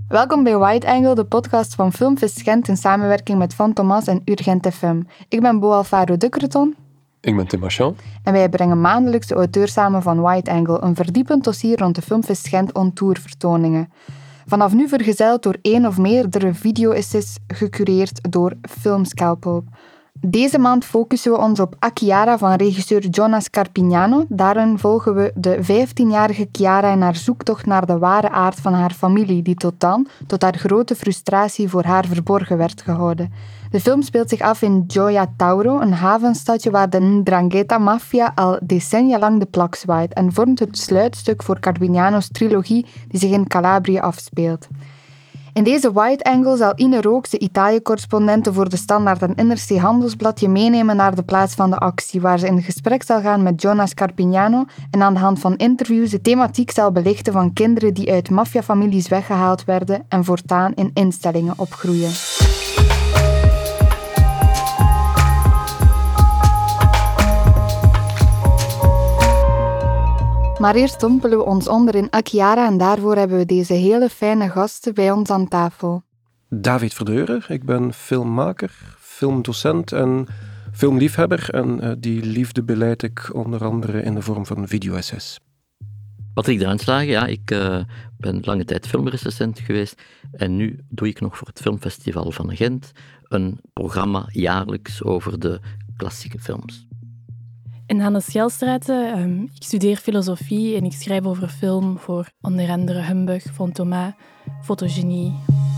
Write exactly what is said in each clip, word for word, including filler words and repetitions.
Welkom bij Wide Angle, de podcast van Filmfest Gent in samenwerking met Van Thomas en Urgent F M. Ik ben Bo Alfaro de Creton. Ik ben Tim Marchand. En wij brengen maandelijks de auteurs samen van Wide Angle, een verdiepend dossier rond de Filmfest Gent on-tour vertoningen. Vanaf nu vergezeld door één of meerdere video-essays gecureerd door Filmscalpel. Deze maand focussen we ons op Akiara van regisseur Jonas Carpignano. Daarin volgen we de vijftienjarige Chiara in haar zoektocht naar de ware aard van haar familie, die tot dan, tot haar grote frustratie, voor haar verborgen werd gehouden. De film speelt zich af in Gioia Tauro, een havenstadje waar de Ndrangheta-maffia al decennia lang de plak zwaait en vormt het sluitstuk voor Carpignano's trilogie die zich in Calabrië afspeelt. In deze Wide Angle zal Ine Rooks, de Italië-correspondente voor de Standaard en N R C Handelsblad, je meenemen naar de plaats van de actie, waar ze in gesprek zal gaan met Jonas Carpignano en aan de hand van interviews de thematiek zal belichten van kinderen die uit maffiafamilies weggehaald werden en voortaan in instellingen opgroeien. Maar eerst dompelen we ons onder in Akiara en daarvoor hebben we deze hele fijne gasten bij ons aan tafel. David Verdeurer, ik ben filmmaker, filmdocent en filmliefhebber en uh, die liefde beleid ik onder andere in de vorm van video-essays. Patrick Druinslagen, ja, ik uh, ben lange tijd filmrecensent geweest en nu doe ik nog voor het Filmfestival van Gent een programma jaarlijks over de klassieke films. En Hannes Gelstraeten, um, ik studeer filosofie en ik schrijf over film voor onder andere Humbug, Van Thomas, Fotogenie.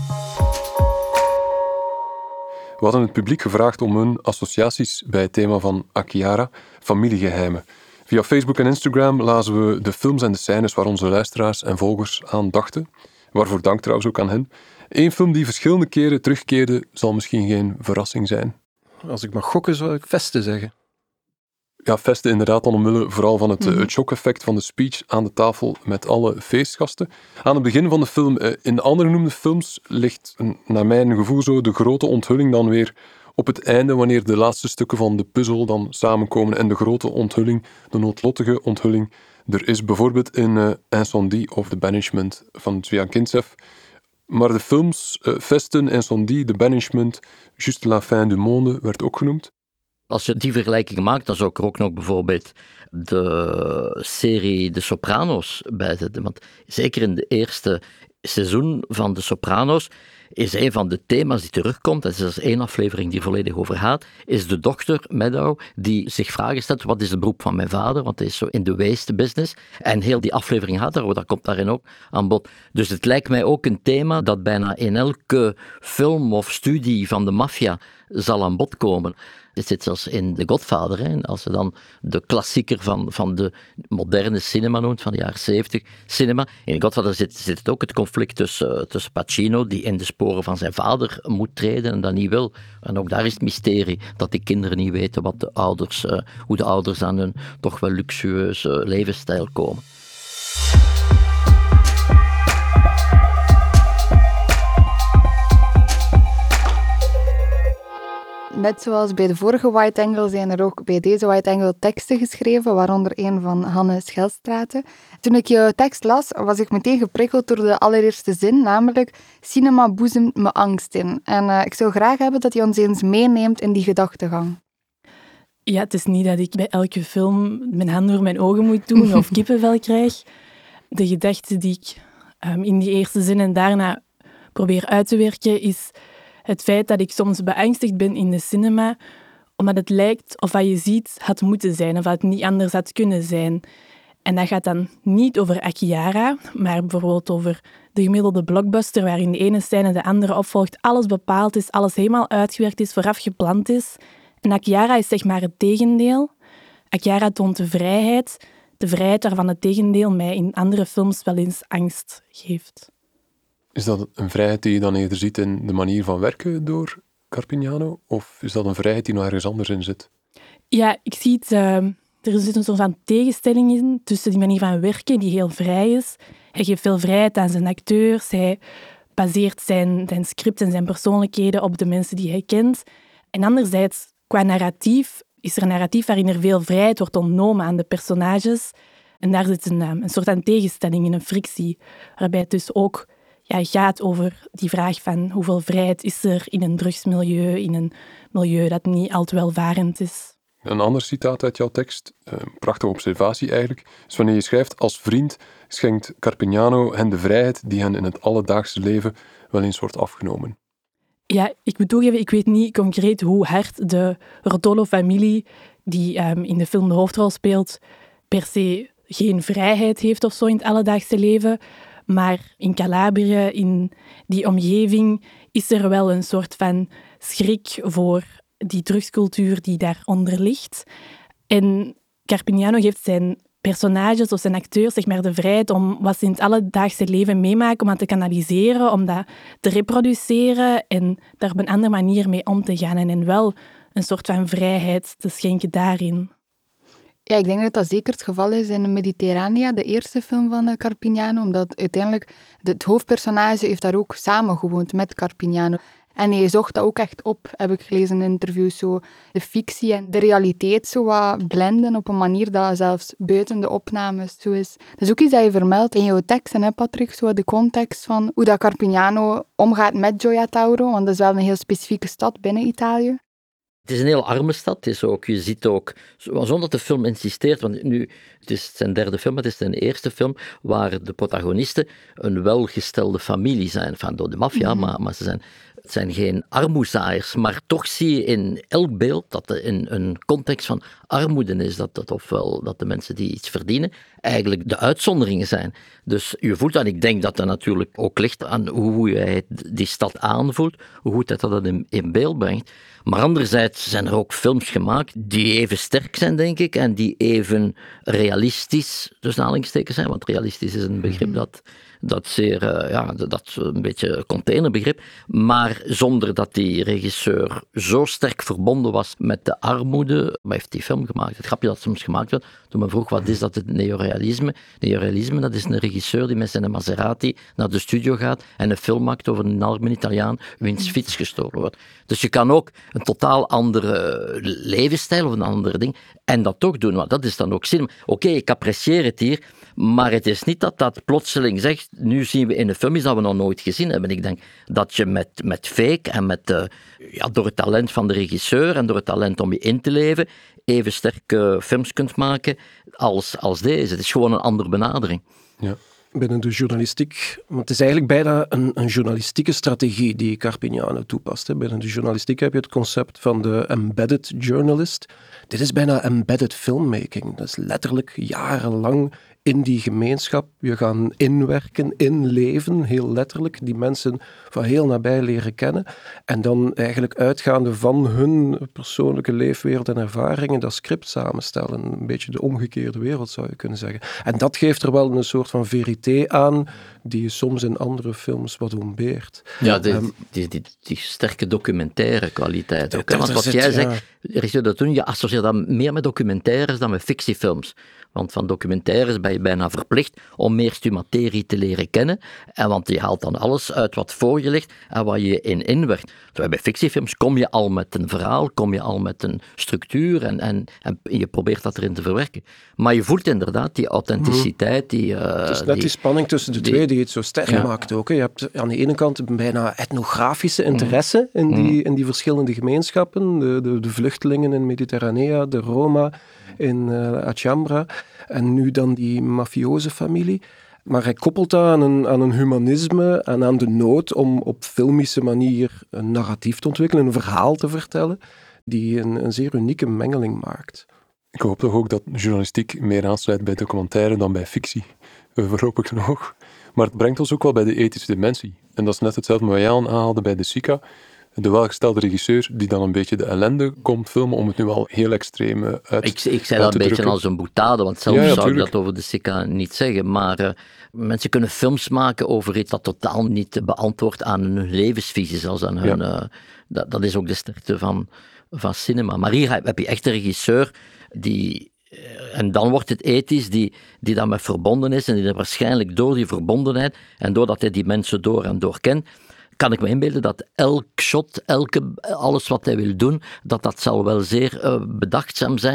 We hadden het publiek gevraagd om hun associaties bij het thema van Akiara, familiegeheimen. Via Facebook en Instagram lazen we de films en de scènes waar onze luisteraars en volgers aan dachten. Waarvoor dank trouwens ook aan hen. Eén film die verschillende keren terugkeerde zal misschien geen verrassing zijn. Als ik mag gokken zou ik Vesten zeggen. Ja, Vesten inderdaad dan omwille vooral van het, mm-hmm. het shock-effect van de speech aan de tafel met alle feestgasten. Aan het begin van de film, in de andere genoemde films, ligt naar mijn gevoel zo de grote onthulling dan weer op het einde, wanneer de laatste stukken van de puzzel dan samenkomen en de grote onthulling, de noodlottige onthulling, er is bijvoorbeeld in uh, Incendie of The Banishment van Zwiagintsev. Maar de films uh, Vesten, Incendie, The Banishment, Juste la fin du monde werd ook genoemd. Als je die vergelijking maakt, dan zou ik er ook nog bijvoorbeeld de serie De Sopranos bij zetten. Want zeker in de eerste seizoen van De Sopranos is een van de thema's die terugkomt, en er is één aflevering die volledig over gaat, is de dochter Meadow die zich vragen stelt, wat is het beroep van mijn vader, want hij is zo in de waste business. En heel die aflevering gaat daarover, dat komt daarin ook aan bod. Dus het lijkt mij ook een thema dat bijna in elke film of studie van de maffia zal aan bod komen. Het zit zelfs in The Godfather, hè. Als je dan de klassieker van, van de moderne cinema noemt, van de jaren zeventig cinema. In The Godfather zit, zit het ook het conflict tussen, tussen Pacino, die in de sporen van zijn vader moet treden en dat niet wil. En ook daar is het mysterie dat die kinderen niet weten wat de ouders, uh, hoe de ouders aan hun toch wel luxueuze levensstijl komen. Net zoals bij de vorige Wide Angle zijn er ook bij deze Wide Angle teksten geschreven, waaronder een van Hannes Gelstraeten. Toen ik jouw tekst las, was ik meteen geprikkeld door de allereerste zin, namelijk cinema boezemt me angst in. En uh, ik zou graag hebben dat je ons eens meeneemt in die gedachtegang. Ja, het is niet dat ik bij elke film mijn hand door mijn ogen moet doen of kippenvel krijg. De gedachte die ik um, in die eerste zin en daarna probeer uit te werken is het feit dat ik soms beangstigd ben in de cinema, omdat het lijkt of wat je ziet had moeten zijn, of dat het niet anders had kunnen zijn. En dat gaat dan niet over Akiara, maar bijvoorbeeld over de gemiddelde blockbuster, waarin de ene scène de andere opvolgt, alles bepaald is, alles helemaal uitgewerkt is, vooraf gepland is. En Akiara is zeg maar het tegendeel. Akiara toont de vrijheid, de vrijheid waarvan het tegendeel mij in andere films wel eens angst geeft. Is dat een vrijheid die je dan eerder ziet in de manier van werken door Carpignano? Of is dat een vrijheid die nog ergens anders in zit? Ja, ik zie het... Uh, er zit een soort van tegenstelling in tussen die manier van werken, die heel vrij is. Hij geeft veel vrijheid aan zijn acteurs. Hij baseert zijn, zijn script en zijn persoonlijkheden op de mensen die hij kent. En anderzijds, qua narratief, is er een narratief waarin er veel vrijheid wordt ontnomen aan de personages. En daar zit een, een soort van tegenstelling in, een frictie. Waarbij het dus ook ja, gaat over die vraag van hoeveel vrijheid is er in een drugsmilieu, in een milieu dat niet al te welvarend is. Een ander citaat uit jouw tekst, een prachtige observatie eigenlijk, is wanneer je schrijft: als vriend schenkt Carpignano hen de vrijheid die hen in het alledaagse leven wel eens wordt afgenomen. Ja, ik moet toegeven, ik weet niet concreet hoe hard de Rotolo-familie, die um, in de film de hoofdrol speelt, per se geen vrijheid heeft of zo in het alledaagse leven. Maar in Calabrië, in die omgeving, is er wel een soort van schrik voor die drugscultuur die daaronder ligt. En Carpignano geeft zijn personages of zijn acteurs zeg maar, de vrijheid om wat ze in het alledaagse leven meemaken, om dat te kanaliseren, om dat te reproduceren en daar op een andere manier mee om te gaan. En hen wel een soort van vrijheid te schenken daarin. Ja, ik denk dat dat zeker het geval is in Mediterranea, de eerste film van uh, Carpignano, omdat uiteindelijk de, het hoofdpersonage heeft daar ook samen gewoond met Carpignano. En hij zocht dat ook echt op, heb ik gelezen in interviews, zo de fictie en de realiteit zo wat blenden op een manier dat zelfs buiten de opnames zo is. Dat is ook iets dat je vermeldt in jouw teksten, hè Patrick, zo de context van hoe dat Carpignano omgaat met Gioia Tauro, want dat is wel een heel specifieke stad binnen Italië. Het is een heel arme stad. Het is ook, je ziet ook, zonder dat de film insisteert, want nu, het is zijn derde film, het is zijn eerste film, waar de protagonisten een welgestelde familie zijn, van door de maffia, mm-hmm. maar, maar ze zijn, het zijn geen armoezaaiers. Maar toch zie je in elk beeld dat er in een context van armoede is, dat, dat ofwel dat de mensen die iets verdienen, eigenlijk de uitzonderingen zijn. Dus je voelt dat, ik denk dat dat natuurlijk ook ligt aan hoe je die stad aanvoelt, hoe goed dat dat in, in beeld brengt. Maar anderzijds zijn er ook films gemaakt die even sterk zijn, denk ik, en die even realistisch, dus aanhalingstekens zijn, want realistisch is een begrip dat, dat zeer, uh, ja, dat een beetje containerbegrip, maar zonder dat die regisseur zo sterk verbonden was met de armoede, maar heeft die film gemaakt. Het grapje dat soms gemaakt werd, toen men vroeg, wat is dat, het neorealisme? Neorealisme, dat is een regisseur die met zijn Maserati naar de studio gaat en een film maakt over een arme Italiaan wiens fiets gestolen wordt. Dus je kan ook een totaal andere levensstijl of een ander ding en dat toch doen, want dat is dan ook cinema. Oké, okay, ik apprecieer het hier, maar het is niet dat dat plotseling zegt, nu zien we in een film iets dat we nog nooit gezien hebben. Ik denk dat je met, met fake en met, uh, ja, door het talent van de regisseur en door het talent om je in te leven, even sterke films kunt maken als, als deze. Het is gewoon een andere benadering. Ja. Binnen de journalistiek, want het is eigenlijk bijna een, een journalistieke strategie die Carpignano toepast. Hè. Binnen de journalistiek heb je het concept van de embedded journalist. Dit is bijna embedded filmmaking. Dat is letterlijk jarenlang in die gemeenschap je gaan inwerken, inleven, heel letterlijk, die mensen van heel nabij leren kennen en dan eigenlijk uitgaande van hun persoonlijke leefwereld en ervaringen dat script samenstellen. Een beetje de omgekeerde wereld zou je kunnen zeggen. En dat geeft er wel een soort van verité aan die je soms in andere films wat ontbeert. Ja, die, um, die, die, die sterke documentaire kwaliteit ook. Want wat zit, jij zegt, ja. dat doen, je associeert dat meer met documentaires dan met fictiefilms. Want van documentaires ben je bijna verplicht om meer je materie te leren kennen. En want je haalt dan alles uit wat voor je ligt en wat je in inwerkt. Terwijl bij fictiefilms kom je al met een verhaal, kom je al met een structuur en, en, en je probeert dat erin te verwerken. Maar je voelt inderdaad die authenticiteit. Die, uh, het is net die, die spanning tussen de die, twee die het zo sterk ja. maakt ook. Hè. Je hebt aan de ene kant een bijna etnografische interesse mm. in, die, in die verschillende gemeenschappen. De, de, de vluchtelingen in Mediterranea, de Roma in uh, Alhambra en nu dan die mafioze familie. Maar hij koppelt dat aan een, aan een humanisme en aan de nood om op filmische manier een narratief te ontwikkelen, een verhaal te vertellen, die een, een zeer unieke mengeling maakt. Ik hoop toch ook dat journalistiek meer aansluit bij documentaire dan bij fictie. Voorlopig nog. Maar het brengt ons ook wel bij de ethische dimensie. En dat is net hetzelfde wat jij aanhaalde bij De Sica. De welgestelde regisseur die dan een beetje de ellende komt filmen om het nu al heel extreem uit te drukken. Ik, ik zei dat een beetje als een boutade, want zelf ja, ja, zou ik dat over De Sica niet zeggen. Maar uh, mensen kunnen films maken over iets dat totaal niet beantwoordt aan hun levensvisie, zelfs aan hun... Ja. Uh, dat, dat is ook de sterkte van, van cinema. Maar hier heb je echt een regisseur die... En dan wordt het ethisch, die, die daarmee verbonden is en die er waarschijnlijk door die verbondenheid en doordat hij die mensen door en door kent, kan ik me inbeelden dat elk shot, elke, alles wat hij wil doen, dat dat zal wel zeer uh, bedachtzaam zijn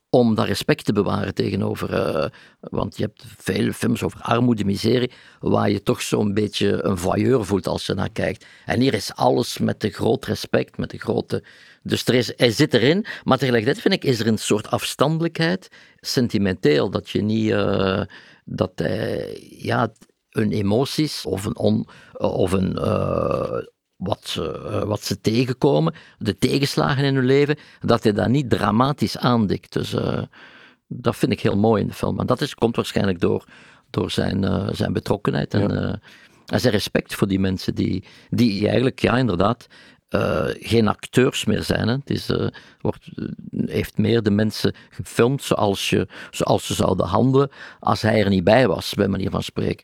om dat respect te bewaren tegenover... Uh, want je hebt veel films over armoede, miserie, waar je toch zo'n beetje een voyeur voelt als je naar kijkt. En hier is alles met de groot respect, met de grote... Dus er is, hij zit erin, maar tegelijkertijd vind ik, is er een soort afstandelijkheid, sentimenteel, dat je niet... Uh, dat hij, ja, hun emoties of een... On, of een uh, Wat ze, uh, wat ze tegenkomen, de tegenslagen in hun leven, dat hij dat niet dramatisch aandikt. Dus uh, dat vind ik heel mooi in de film. En dat is, komt waarschijnlijk door, door zijn, uh, zijn betrokkenheid en, ja. uh, en zijn respect voor die mensen die, die eigenlijk, ja inderdaad, uh, geen acteurs meer zijn. Hè. Het is, uh, wordt, heeft meer de mensen gefilmd zoals, je, zoals ze zouden handelen als hij er niet bij was, bij manier van spreken.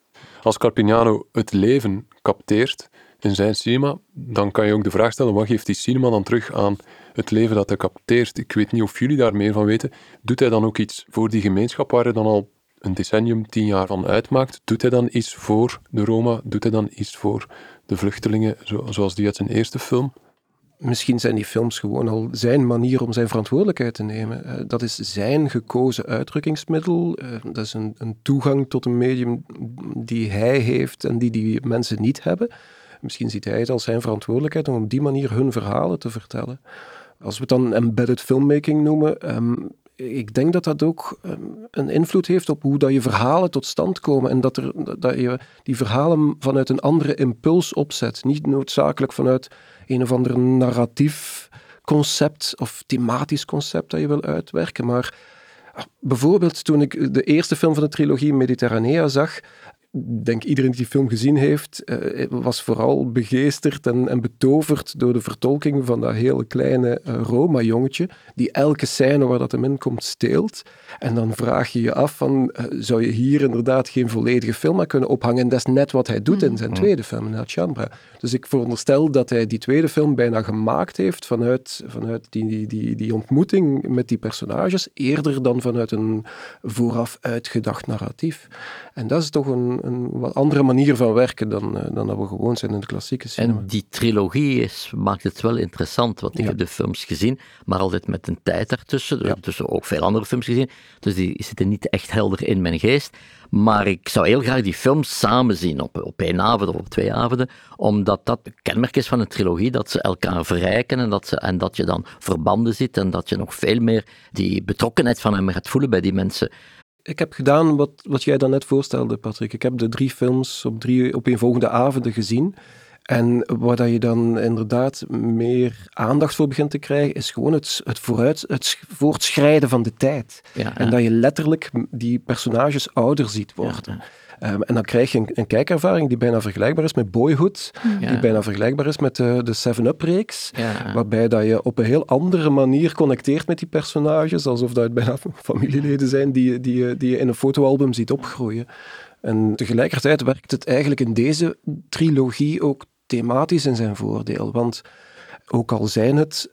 Als Carpignano het leven capteert in zijn cinema, dan kan je ook de vraag stellen, wat geeft die cinema dan terug aan het leven dat hij capteert? Ik weet niet of jullie daar meer van weten. Doet hij dan ook iets voor die gemeenschap waar hij dan al een decennium, tien jaar van uitmaakt? Doet hij dan iets voor de Roma? Doet hij dan iets voor de vluchtelingen, zoals die uit zijn eerste film? Misschien zijn die films gewoon al zijn manier om zijn verantwoordelijkheid te nemen. Uh, dat is zijn gekozen uitdrukkingsmiddel. Uh, dat is een, een toegang tot een medium die hij heeft en die die mensen niet hebben. Misschien ziet hij het als zijn verantwoordelijkheid om op die manier hun verhalen te vertellen. Als we het dan embedded filmmaking noemen, um, ik denk dat dat ook um, een invloed heeft op hoe dat je verhalen tot stand komen en dat, er, dat je die verhalen vanuit een andere impuls opzet. Niet noodzakelijk vanuit een of ander narratief concept of thematisch concept dat je wil uitwerken, maar bijvoorbeeld toen ik de eerste film van de trilogie Mediterranea zag, ik denk iedereen die die film gezien heeft, uh, was vooral begeesterd en, en betoverd door de vertolking van dat hele kleine uh, Roma-jongetje, die elke scène waar dat hem in komt steelt. En dan vraag je je af van, uh, zou je hier inderdaad geen volledige film aan kunnen ophangen? En dat is net wat hij doet in zijn tweede film, in Alhambra. Dus ik veronderstel dat hij die tweede film bijna gemaakt heeft vanuit, vanuit die, die, die, die ontmoeting met die personages, eerder dan vanuit een vooraf uitgedacht narratief. En dat is toch een een wat andere manier van werken dan, uh, dan dat we gewoon zijn in de klassieke cinema. En die trilogie is, maakt het wel interessant, want ik ja. heb de films gezien, maar altijd met een tijd daartussen, ja. Dus ook veel andere films gezien, dus die zitten niet echt helder in mijn geest. Maar ik zou heel graag die films samen zien, op, op één avond of op twee avonden, omdat dat een kenmerk is van een trilogie, dat ze elkaar verrijken en dat, ze, en dat je dan verbanden ziet en dat je nog veel meer die betrokkenheid van hem gaat voelen bij die mensen. Ik heb gedaan wat, wat jij dan net voorstelde, Patrick. Ik heb de drie films op drie opeenvolgende avonden gezien. En waar dat je dan inderdaad meer aandacht voor begint te krijgen, is gewoon het, het, vooruit, het voortschrijden van de tijd. Ja, ja. En dat je letterlijk die personages ouder ziet worden. Ja, ja. Um, en dan krijg je een, een kijkervaring die bijna vergelijkbaar is met Boyhood, ja. die bijna vergelijkbaar is met de, de seven-up-reeks, ja. waarbij dat je op een heel andere manier connecteert met die personages, alsof dat het bijna familieleden zijn die, die, die je in een fotoalbum ziet opgroeien. En tegelijkertijd werkt het eigenlijk in deze trilogie ook thematisch in zijn voordeel, want ook al zijn het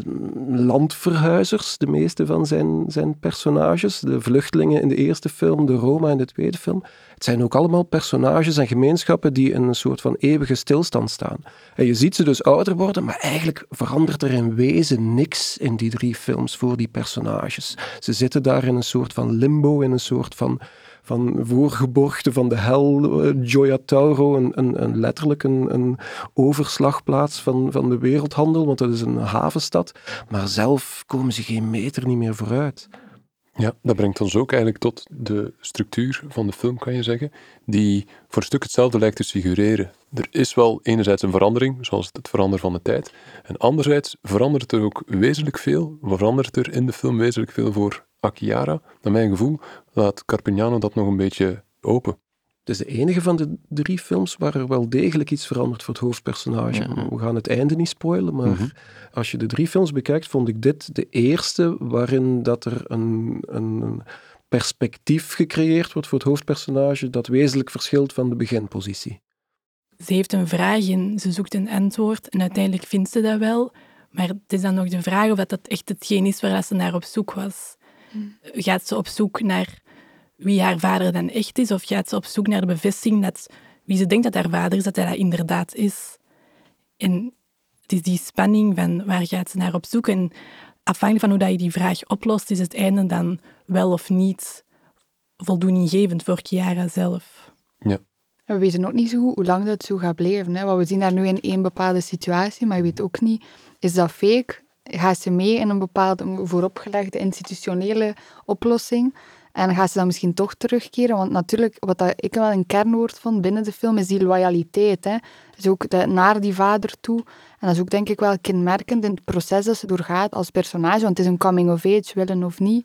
landverhuizers, de meeste van zijn, zijn personages, de vluchtelingen in de eerste film, de Roma in de tweede film, het zijn ook allemaal personages en gemeenschappen die in een soort van eeuwige stilstand staan. En je ziet ze dus ouder worden, maar eigenlijk verandert er in wezen niks in die drie films voor die personages. Ze zitten daar in een soort van limbo, in een soort van van voorgeborgte van de hel, uh, Gioia Tauro, een, een, een, letterlijk een, een overslagplaats van, van de wereldhandel, want dat is een havenstad. Maar zelf komen ze geen meter niet meer vooruit. Ja, dat brengt ons ook eigenlijk tot de structuur van de film, kan je zeggen, die voor een stuk hetzelfde lijkt te figureren. Er is wel enerzijds een verandering, zoals het veranderen van de tijd, en anderzijds verandert er ook wezenlijk veel, verandert er in de film wezenlijk veel voor Achiara. Naar mijn gevoel laat Carpignano dat nog een beetje open. Het is de enige van de drie films waar er wel degelijk iets verandert voor het hoofdpersonage. Ja. We gaan het einde niet spoilen, maar mm-hmm. als je de drie films bekijkt, vond ik dit de eerste waarin dat er een, een perspectief gecreëerd wordt voor het hoofdpersonage dat wezenlijk verschilt van de beginpositie. Ze heeft een vraag en ze zoekt een antwoord en uiteindelijk vindt ze dat wel, maar het is dan nog de vraag of dat, dat echt hetgeen is waar ze naar op zoek was. Mm. Gaat ze op zoek naar wie haar vader dan echt is, of gaat ze op zoek naar de bevestiging dat wie ze denkt dat haar vader is, dat hij dat inderdaad is. En het is die spanning van waar gaat ze naar op zoek. En afhankelijk van hoe dat je die vraag oplost, is het einde dan wel of niet voldoeninggevend voor Chiara zelf. Ja. We weten ook niet zo goed hoe lang dat zo gaat blijven. Hè. Want we zien daar nu in één bepaalde situatie, maar je weet ook niet, is dat fake? Gaat ze mee in een bepaalde vooropgelegde institutionele oplossing? En gaat ze dan misschien toch terugkeren? Want natuurlijk, wat dat ik wel een kernwoord vond binnen de film, is die loyaliteit. Hè. Dus ook de, naar die vader toe. En dat is ook denk ik wel kenmerkend in het proces dat ze doorgaat als personage. Want het is een coming-of-age, willen of niet.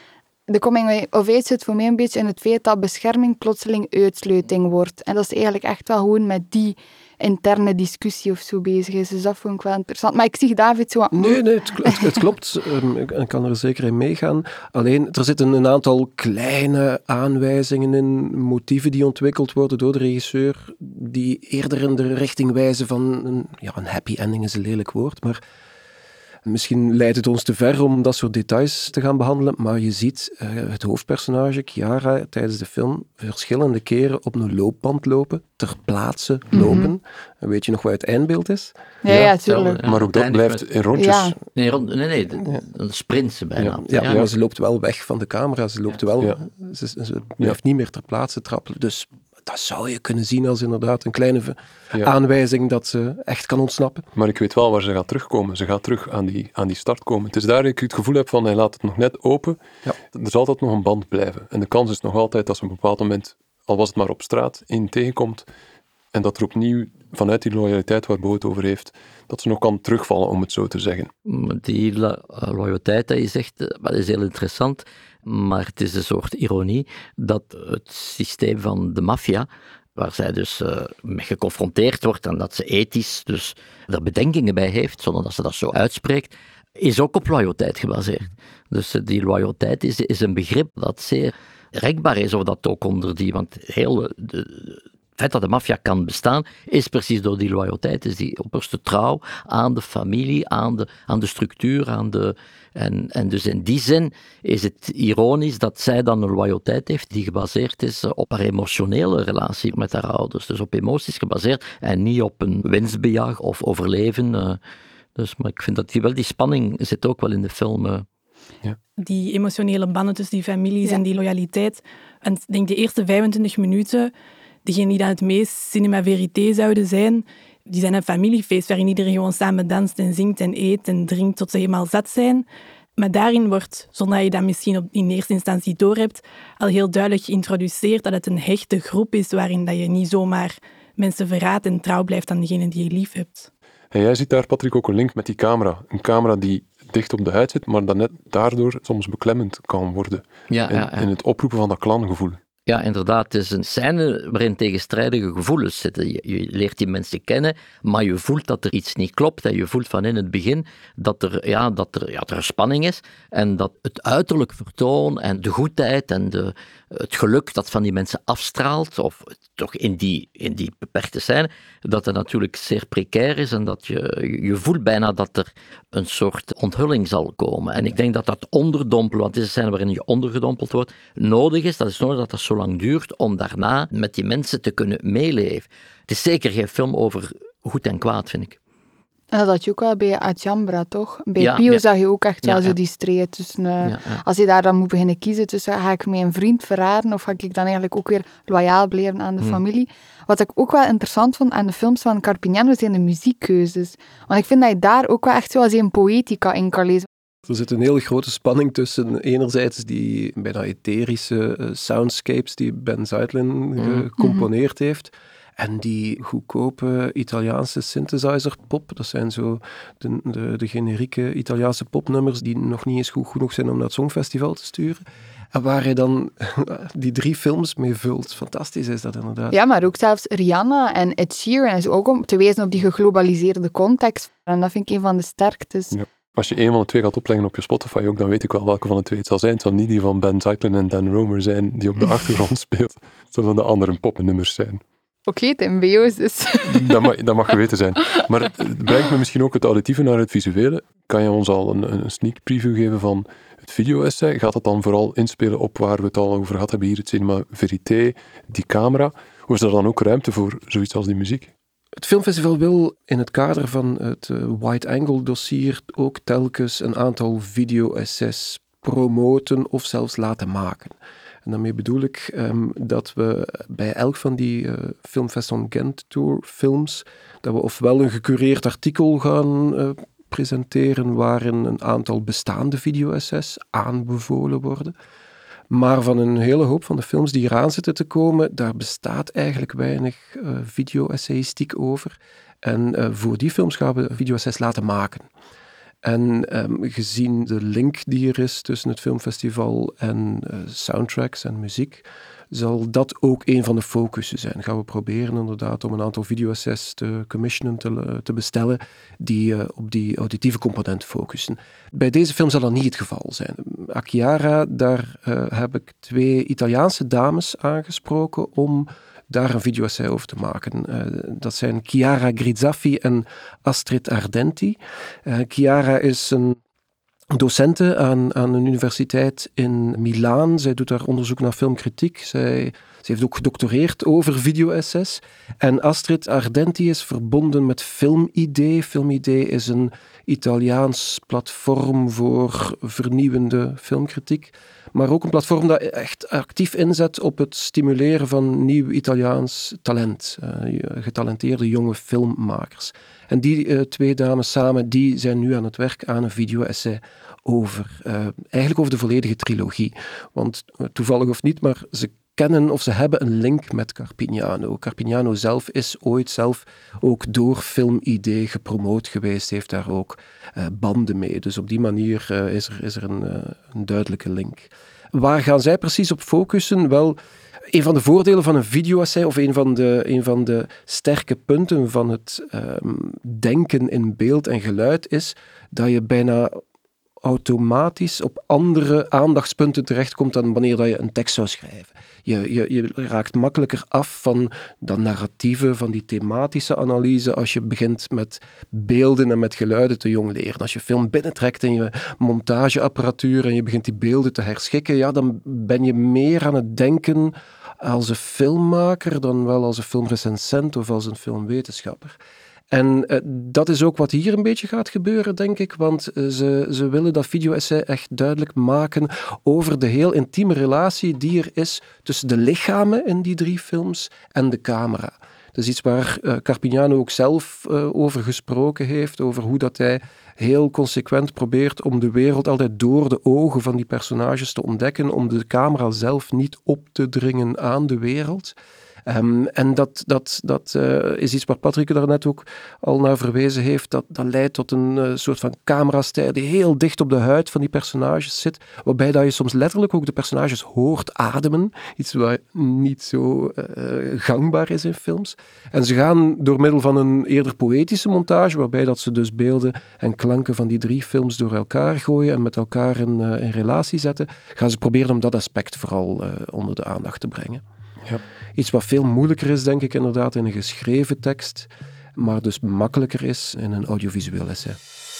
De coming-of-age zit voor mij een beetje in het feit dat bescherming plotseling uitsluiting wordt. En dat is eigenlijk echt wel gewoon met die interne discussie of zo bezig is. Dus dat vond ik wel interessant. Maar ik zie David zo... Nee, nee, het, het, het klopt. Um, ik kan er zeker in meegaan. Alleen, er zitten een aantal kleine aanwijzingen in, motieven die ontwikkeld worden door de regisseur, die eerder in de richting wijzen van... Een, ja, een happy ending is een lelijk woord, maar... Misschien leidt het ons te ver om dat soort details te gaan behandelen, maar je ziet uh, het hoofdpersonage, Chiara, tijdens de film verschillende keren op een loopband lopen, ter plaatse lopen. Mm-hmm. En weet je nog wat het eindbeeld is? Ja, ja, ja tuurlijk. Ja, maar ook dat blijft met... in rondjes. Ja. Nee, rond, nee, nee, de, de sprint ze bijna. Ja, ja, ja, maar ze loopt wel weg van de camera, ze loopt wel, ja. ze, ze blijft ja. niet meer ter plaatse trappelen, dus... Dat zou je kunnen zien als inderdaad een kleine v- ja. aanwijzing dat ze echt kan ontsnappen. Maar ik weet wel waar ze gaat terugkomen. Ze gaat terug aan die, aan die start komen. Het is daar dat ik het gevoel heb van, hij laat het nog net open. Ja. Er zal altijd nog een band blijven. En de kans is nog altijd dat ze op een bepaald moment, al was het maar op straat, in tegenkomt. En dat er opnieuw, vanuit die loyaliteit waar Bo het over heeft, dat ze nog kan terugvallen, om het zo te zeggen. Die lo- loyaliteit dat je zegt, dat is heel interessant. Maar het is een soort ironie dat het systeem van de maffia, waar zij dus uh, mee geconfronteerd wordt en dat ze ethisch dus er bedenkingen bij heeft, zonder dat ze dat zo uitspreekt, is ook op loyaliteit gebaseerd. Dus uh, die loyaliteit is, is een begrip dat zeer rekbaar is, of dat ook onder die, want heel de, de, het feit dat de maffia kan bestaan, is precies door die loyaliteit, is die opperste trouw aan de familie, aan de, aan de structuur, aan de... En, en dus in die zin is het ironisch dat zij dan een loyaliteit heeft die gebaseerd is op haar emotionele relatie met haar ouders. Dus op emoties gebaseerd en niet op een winstbejag of overleven. Uh, dus, maar ik vind dat die, wel, die spanning zit ook wel in de film. Uh. Ja. Die emotionele banden tussen die families ja. en die loyaliteit. En ik denk de eerste vijfentwintig minuten, degenen die dan het meest cinema verité zouden zijn, die zijn een familiefeest waarin iedereen gewoon samen danst en zingt en eet en drinkt tot ze helemaal zat zijn. Maar daarin wordt, zonder dat je dat misschien op, in eerste instantie doorhebt, al heel duidelijk geïntroduceerd dat het een hechte groep is waarin dat je niet zomaar mensen verraadt en trouw blijft aan degene die je lief hebt. En jij ziet daar, Patrick, ook een link met die camera. Een camera die dicht op de huid zit, maar dat net daardoor soms beklemmend kan worden. Ja, in, ja, ja. in het oproepen van dat clangevoel. Ja, inderdaad. Het is een scène waarin tegenstrijdige gevoelens zitten. Je, je leert die mensen kennen, maar je voelt dat er iets niet klopt. En je voelt van in het begin dat er, ja, dat er, ja, dat er een spanning is. En dat het uiterlijk vertoon en de goedheid en de, het geluk dat van die mensen afstraalt, of toch in die, in die beperkte scène, dat het natuurlijk zeer precair is en dat je, je voelt bijna dat er een soort onthulling zal komen. En ik denk dat dat onderdompelen, want het is een scène waarin je ondergedompeld wordt, nodig is. Dat is nodig dat dat zo lang duurt om daarna met die mensen te kunnen meeleven. Het is zeker geen film over goed en kwaad, vind ik. En dat had je ook wel bij Ajambra, toch? Bij Ja, Pio ja. zag je ook echt wel Ja, zo ja. die strijd tussen... Uh, Ja, ja. Als je daar dan moet beginnen kiezen tussen, ga ik mijn vriend verraden of ga ik dan eigenlijk ook weer loyaal blijven aan de Hmm. familie? Wat ik ook wel interessant vond aan de films van Carpignano zijn de muziekkeuzes. Want ik vind dat je daar ook wel echt zo als een poëtica in kan lezen. Er zit een hele grote spanning tussen enerzijds die bijna etherische uh, soundscapes die Ben Zeitlin gecomponeerd mm. heeft en die goedkope Italiaanse synthesizer-pop. Dat zijn zo de, de, de generieke Italiaanse popnummers die nog niet eens goed genoeg zijn om naar het Songfestival te sturen. En waar hij dan die drie films mee vult. Fantastisch is dat inderdaad. Ja, maar ook zelfs Rihanna en Ed Sheeran is ook om te wijzen op die geglobaliseerde context. En dat vind ik een van de sterktes. Ja. Als je een van de twee gaat opleggen op je Spotify ook, dan weet ik wel welke van de twee het zal zijn. Het zal niet die van Ben Zeitlin en Dan Romer zijn, die op de achtergrond speelt. Het zullen de andere popnummers zijn. Oké, okay, Tim Beo's dus. Dat mag, dat mag geweten zijn. Maar het brengt me misschien ook het auditieve naar het visuele. Kan je ons al een, een sneak preview geven van het video-essay? Gaat dat dan vooral inspelen op waar we het al over gehad hebben hier, het cinema verité, die camera? Of is er dan ook ruimte voor zoiets als die muziek? Het filmfestival wil in het kader van het uh, wide-angle-dossier ook telkens een aantal video-essays promoten of zelfs laten maken. En daarmee bedoel ik um, dat we bij elk van die uh, Filmfest on Gent Tour films, dat we ofwel een gecureerd artikel gaan uh, presenteren waarin een aantal bestaande video-essays aanbevolen worden. Maar van een hele hoop van de films die eraan zitten te komen, daar bestaat eigenlijk weinig uh, video-essayistiek over. En uh, voor die films gaan we video-essays laten maken. En um, gezien de link die er is tussen het filmfestival en uh, soundtracks en muziek, zal dat ook een van de focussen zijn. Gaan we proberen inderdaad om een aantal video-essays te commissionen, te, te bestellen, die uh, op die auditieve component focussen. Bij deze film zal dat niet het geval zijn. Akiara, daar uh, heb ik twee Italiaanse dames aangesproken om daar een video-essay over te maken. Uh, dat zijn Chiara Grizzaffi en Astrid Ardenti. Uh, Chiara is een docente aan, aan een universiteit in Milaan. Zij doet daar onderzoek naar filmkritiek. Zij, ze heeft ook gedoctoreerd over video-essays. En Astrid Ardenti is verbonden met Filmidee. Filmidee is een Italiaans platform voor vernieuwende filmkritiek. Maar ook een platform dat echt actief inzet op het stimuleren van nieuw Italiaans talent. Uh, getalenteerde jonge filmmakers. En die uh, twee dames samen, die zijn nu aan het werk aan een video-essay over, uh, eigenlijk over de volledige trilogie. Want uh, toevallig of niet, maar ze kennen of ze hebben een link met Carpignano. Carpignano zelf is ooit zelf ook door Filmidee gepromoot geweest, heeft daar ook uh, banden mee. Dus op die manier uh, is er, is er een, uh, een duidelijke link. Waar gaan zij precies op focussen? Wel, een van de voordelen van een video-essay, of een van de, een van de sterke punten van het um, denken in beeld en geluid, is dat je bijna automatisch op andere aandachtspunten terechtkomt dan wanneer dat je een tekst zou schrijven. Je, je, je raakt makkelijker af van dat narratieve, van die thematische analyse als je begint met beelden en met geluiden te jong leren. Als je film binnentrekt en je montageapparatuur en je begint die beelden te herschikken, ja, dan ben je meer aan het denken als een filmmaker dan wel als een filmrecensent of als een filmwetenschapper. En uh, dat is ook wat hier een beetje gaat gebeuren, denk ik, want uh, ze, ze willen dat video-essay echt duidelijk maken over de heel intieme relatie die er is tussen de lichamen in die drie films en de camera. Dat is iets waar uh, Carpignano ook zelf uh, over gesproken heeft, over hoe dat hij heel consequent probeert om de wereld altijd door de ogen van die personages te ontdekken, om de camera zelf niet op te dringen aan de wereld. Um, en dat, dat, dat uh, is iets waar Patrick daarnet ook al naar verwezen heeft. Dat, dat leidt tot een uh, soort van camerastijl die heel dicht op de huid van die personages zit. Waarbij dat je soms letterlijk ook de personages hoort ademen. Iets wat niet zo uh, gangbaar is in films. En ze gaan door middel van een eerder poëtische montage, waarbij dat ze dus beelden en klanken van die drie films door elkaar gooien en met elkaar in, uh, in relatie zetten, gaan ze proberen om dat aspect vooral uh, onder de aandacht te brengen. Ja. Iets wat veel moeilijker is, denk ik, inderdaad, in een geschreven tekst, maar dus makkelijker is in een audiovisueel essay.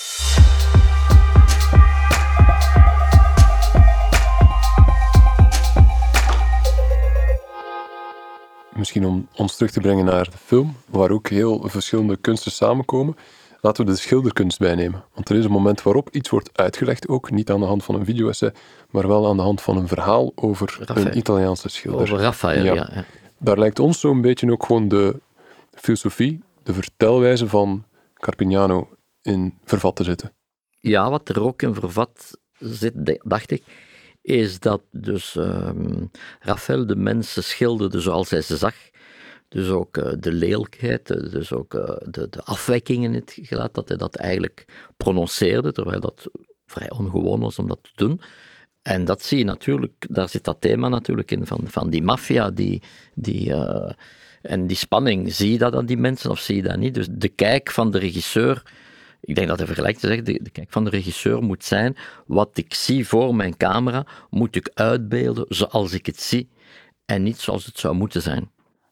Misschien om ons terug te brengen naar de film, waar ook heel verschillende kunsten samenkomen. Laten we de schilderkunst bijnemen. Want er is een moment waarop iets wordt uitgelegd, ook niet aan de hand van een video-essay, maar wel aan de hand van een verhaal over Raphaël. Een Italiaanse schilder. Over Raphaël, ja. ja, ja. Daar lijkt ons zo'n beetje ook gewoon de filosofie, de vertelwijze van Carpignano in vervat te zitten. Ja, wat er ook in vervat zit, dacht ik, is dat dus um, Raphaël de mensen schilderde zoals hij ze zag. Dus ook uh, de lelijkheid, dus ook uh, de, de afwijking in het gelaat, dat hij dat eigenlijk prononceerde, terwijl dat vrij ongewoon was om dat te doen. En dat zie je natuurlijk, daar zit dat thema natuurlijk in, van, van die maffia, die, die, uh, en die spanning. Zie je dat aan die mensen of zie je dat niet? Dus de kijk van de regisseur, ik denk dat hij vergelijkt te zeggen, de, de kijk van de regisseur moet zijn, wat ik zie voor mijn camera, moet ik uitbeelden zoals ik het zie, en niet zoals het zou moeten zijn.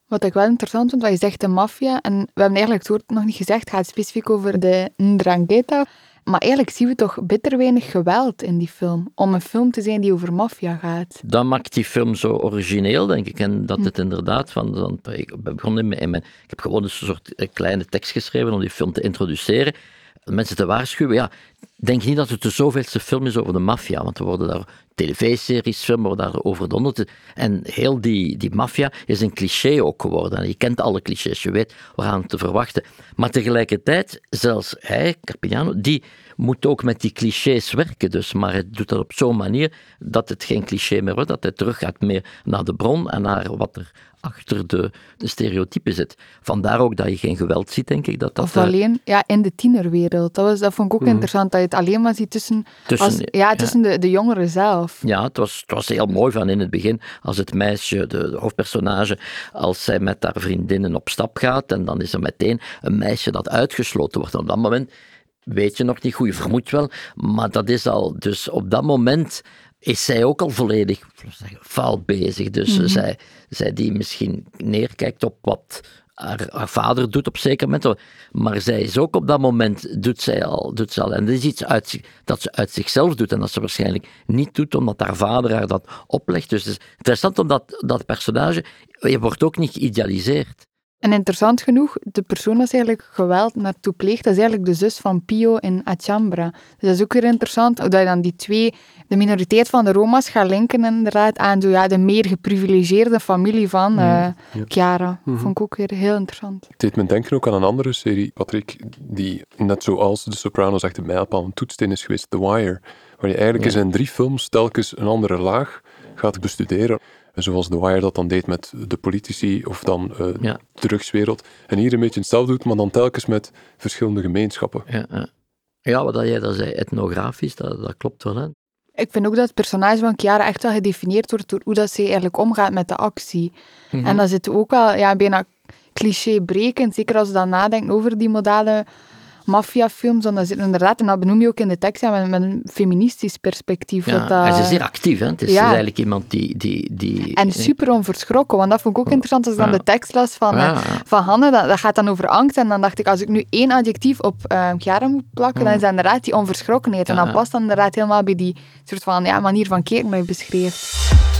Wat ik wel interessant vind, wat je zegt, de maffia. En we hebben eigenlijk het woord nog niet gezegd, het gaat specifiek over de Ndrangheta. Maar eigenlijk zien we toch bitter weinig geweld in die film. Om een film te zijn die over maffia gaat. Dat maakt die film zo origineel, denk ik. En dat het inderdaad van... van ik, begon in mijn, in mijn, ik heb gewoon een soort kleine tekst geschreven om die film te introduceren. Mensen te waarschuwen. Ja, denk niet dat het de zoveelste film is over de maffia. Want er worden daar tv-series, filmen worden daar over donderd. En heel die, die maffia is een cliché ook geworden. En je kent alle clichés, je weet waaraan te verwachten. Maar tegelijkertijd, zelfs hij, Carpignano, die moet ook met die clichés werken. Dus, maar hij doet dat op zo'n manier dat het geen cliché meer wordt. Dat hij terug gaat meer naar de bron en naar wat er achter de, de stereotypen zit. Vandaar ook dat je geen geweld ziet, denk ik. Dat dat, of alleen ja, in de tienerwereld. Dat, was, dat vond ik ook mm. interessant, dat je het alleen maar ziet tussen, tussen, als, ja, tussen ja. De, de jongeren zelf. Ja, het was, het was heel mooi van in het begin, als het meisje, de, de hoofdpersonage, als zij met haar vriendinnen op stap gaat, en dan is er meteen een meisje dat uitgesloten wordt. En op dat moment weet je nog niet goed, je vermoedt wel, maar dat is al, dus op dat moment is zij ook al volledig fout bezig. Dus mm-hmm. zij, zij die misschien neerkijkt op wat haar, haar vader doet op zeker moment, maar zij is ook op dat moment, doet zij al, doet zij al. En dat is iets uit, dat ze uit zichzelf doet en dat ze waarschijnlijk niet doet omdat haar vader haar dat oplegt. Dus het is interessant omdat dat personage, je wordt ook niet geïdealiseerd. En interessant genoeg, de persoon dat eigenlijk geweld naartoe pleegt, dat is eigenlijk de zus van Pio in Achambra. Dus dat is ook weer interessant, hoe je dan die twee, de minoriteit van de Roma's gaat linken inderdaad aan zo, ja, de meer geprivilegeerde familie van uh, ja. Chiara. Mm-hmm. Vond ik ook weer heel interessant. Het deed me denken ook aan een andere serie, Patrick, die net zoals de Sopranos echt een mijlpaal, een toetssteen is geweest, The Wire, waar je eigenlijk ja. in zijn drie films telkens een andere laag gaat bestuderen. Zoals The Wire dat dan deed met de politici of dan uh, ja. de drugswereld. En hier een beetje hetzelfde doet, maar dan telkens met verschillende gemeenschappen. Ja, ja. ja wat jij dat zei, etnografisch, dat, dat klopt wel. Hè? Ik vind ook dat het personage van Chiara echt wel gedefinieerd wordt door hoe dat ze eigenlijk omgaat met de actie. Mm-hmm. En dat zit ook wel ja, bijna clichébrekend, zeker als je dan nadenkt over die modale maffiafilms, want dat zit inderdaad, en dat benoem je ook in de tekst, ja, met, met een feministisch perspectief. Ja, dat dat, en ze is zeer actief, hè? Het is, ja. is eigenlijk iemand die, die, die... En super onverschrokken, want dat vond ik ook interessant als ik dan ja. de tekst las van, ja. van Hanne, dat, dat gaat dan over angst, en dan dacht ik, als ik nu één adjectief op uh, Chiara moet plakken, ja. dan is dat inderdaad die onverschrokkenheid, en ja. dat past dan inderdaad helemaal bij die soort van ja, manier van kijken dat je beschreef.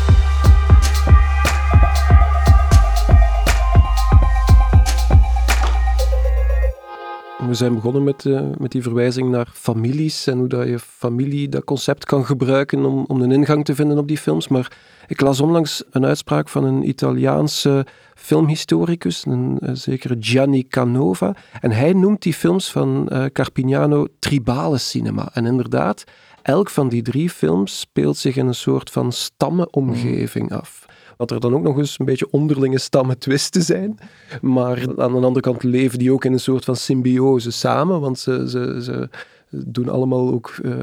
We zijn begonnen met, uh, met die verwijzing naar families en hoe dat je familie, dat concept kan gebruiken om, om een ingang te vinden op die films. Maar ik las onlangs een uitspraak van een Italiaanse filmhistoricus, een, een zekere Gianni Canova. En hij noemt die films van uh, Carpignano tribale cinema. En inderdaad, elk van die drie films speelt zich in een soort van stammenomgeving af. Dat er dan ook nog eens een beetje onderlinge stammen twisten zijn. Maar aan de andere kant leven die ook in een soort van symbiose samen. Want ze, ze, ze doen allemaal ook uh,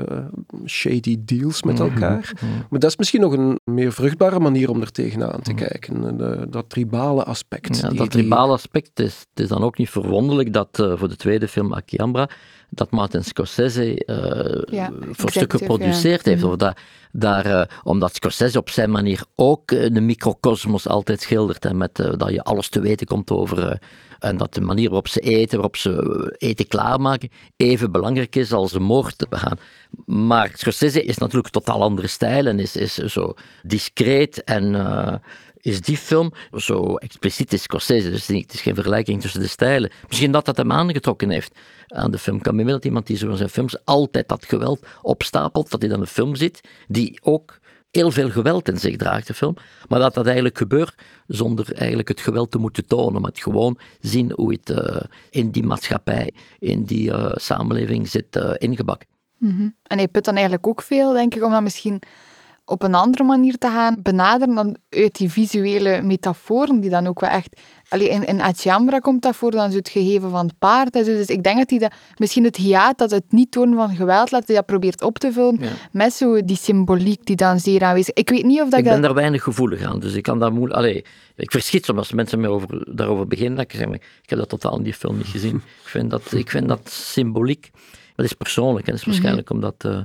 shady deals met elkaar. Mm-hmm. Maar dat is misschien nog een meer vruchtbare manier om er tegenaan te kijken. De, dat tribale aspect. Ja, die, dat tribale aspect is, het is dan ook niet verwonderlijk dat uh, voor de tweede film Achambra dat Martin Scorsese uh, ja, voor stukken geproduceerd ja. heeft. Of dat, daar, uh, omdat Scorsese op zijn manier ook uh, de microcosmos altijd schildert. En met, uh, dat je alles te weten komt over... Uh, en dat de manier waarop ze eten, waarop ze eten klaarmaken, even belangrijk is als de moord te begaan. Maar Scorsese is natuurlijk een totaal andere stijl en is, is zo discreet en... Uh, is die film zo expliciet is Scorsese, dus het is geen vergelijking tussen de stijlen. Misschien dat dat hem aangetrokken heeft aan de film. Ik kan me dat iemand die zo in zijn films altijd dat geweld opstapelt, dat hij dan een film ziet, die ook heel veel geweld in zich draagt, de film, maar dat dat eigenlijk gebeurt zonder eigenlijk het geweld te moeten tonen, maar het gewoon zien hoe het uh, in die maatschappij, in die uh, samenleving zit uh, ingebakken. Mm-hmm. En hij put dan eigenlijk ook veel, denk ik, om dat misschien op een andere manier te gaan benaderen dan uit die visuele metaforen, die dan ook wel echt... Allee, in, in Achambra komt dat voor, dan zo het gegeven van het paard. Dus, dus ik denk dat hij dat, misschien het hiaat, dat het niet tonen van geweld, dat hij dat probeert op te vullen, ja. met zo die symboliek die dan zeer aanwezig is. Ik weet niet of dat ik... Ik ben dat... daar weinig gevoelig aan, dus ik kan daar moeilijk... Allee, ik verschiet soms als mensen mij over, daarover beginnen, dat ik zeg, ik heb dat totaal in die film niet gezien. Ik vind dat, ik vind dat symboliek, dat is persoonlijk, en dat is waarschijnlijk mm-hmm. omdat... Uh,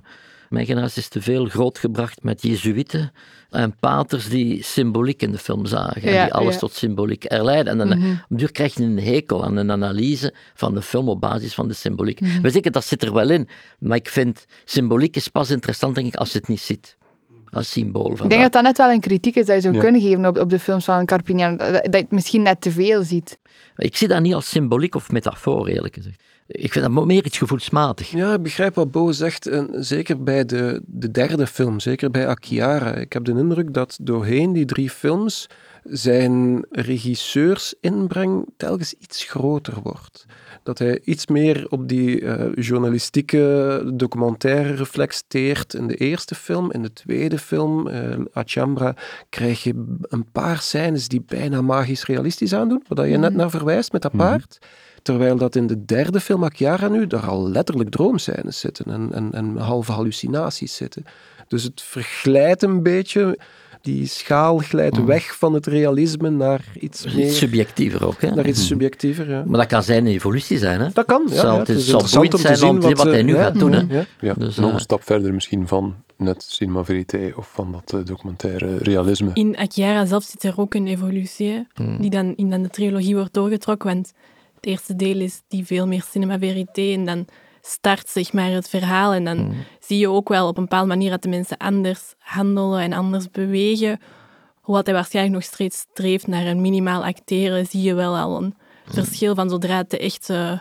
Mijn generatie is te veel grootgebracht met jezuïeten en paters die symboliek in de film zagen. En Ja, die alles ja. tot symboliek herleiden. En dan Mhm. op een duur krijg je een hekel aan een analyse van de film op basis van de symboliek. Mhm. We zeggen, dat zit er wel in. Maar ik vind, symboliek is pas interessant, denk ik, als je het niet ziet. Als symbool van Ik denk dat dat net wel een kritiek is dat je zou Ja. kunnen geven op, op de films van Carpinian. Dat, dat je het misschien net te veel ziet. Ik zie dat niet als symboliek of metafoor, eerlijk gezegd. Ik vind dat meer iets gevoelsmatig. Ja, ik begrijp wat Bo zegt. En zeker bij de, de derde film, zeker bij Akiara. Ik heb de indruk dat doorheen die drie films zijn regisseursinbreng telkens iets groter wordt. Dat hij iets meer op die uh, journalistieke documentaire reflecteert in de eerste film. In de tweede film, uh, Achambra, krijg je een paar scènes die bijna magisch realistisch aandoen, waar je net naar verwijst met dat paard. Terwijl dat in de derde film, Akiara nu, daar al letterlijk droomscènes zitten en, en, en halve hallucinaties zitten. Dus het verglijdt een beetje, die schaal glijdt weg van het realisme naar iets meer... Iets subjectiever ook, hè? Naar iets subjectiever, ja. Maar dat kan zijn evolutie zijn, hè? Dat kan, ja. Het zal, ja. het Het is- is zal interessant boeiend om te zijn zien om te zien wat wat, hij nu eh, gaat ja, doen, hè? ja. Ja, Dus, nog eh, een stap verder misschien van net cinema verité of van dat uh, documentaire realisme. In Akiara zelf zit er ook een evolutie, hè, Hmm. die dan in dan de trilogie wordt doorgetrokken. Want het eerste deel is die veel meer cinema verité en dan start zeg maar het verhaal. En dan zie je ook wel op een bepaalde manier dat de mensen anders handelen en anders bewegen. Hoewel hij waarschijnlijk nog steeds streeft naar een minimaal acteren, zie je wel al een verschil van zodra het de echte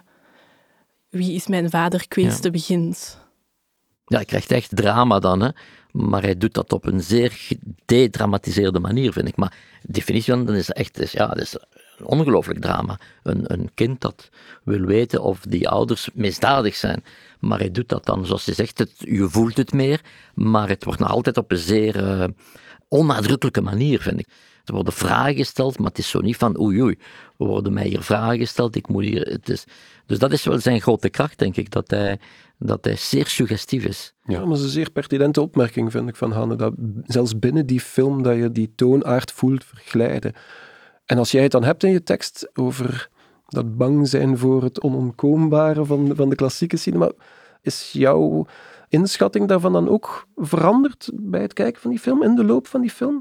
wie is mijn vader kwestie begint. Ja, hij krijgt echt drama dan, hè. Maar hij doet dat op een zeer gedramatiseerde manier, vind ik. Maar de definitie van dan is echt is, ja, dat is een ongelooflijk drama. Een, een kind dat wil weten of die ouders misdadig zijn. Maar hij doet dat dan, zoals je zegt, het, je voelt het meer, maar het wordt nog altijd op een zeer uh, onnadrukkelijke manier, vind ik. Er worden vragen gesteld, maar het is zo niet van oei oei, er worden mij hier vragen gesteld, ik moet hier... Het is, dus dat is wel zijn grote kracht, denk ik, dat hij, dat hij zeer suggestief is. Ja. Ja, maar dat is een zeer pertinente opmerking, vind ik, van Hanne. Dat zelfs binnen die film dat je die toonaard voelt verglijden. En als jij het dan hebt in je tekst over dat bang zijn voor het onontkoombare van, van de klassieke cinema, is jouw inschatting daarvan dan ook veranderd bij het kijken van die film, in de loop van die film?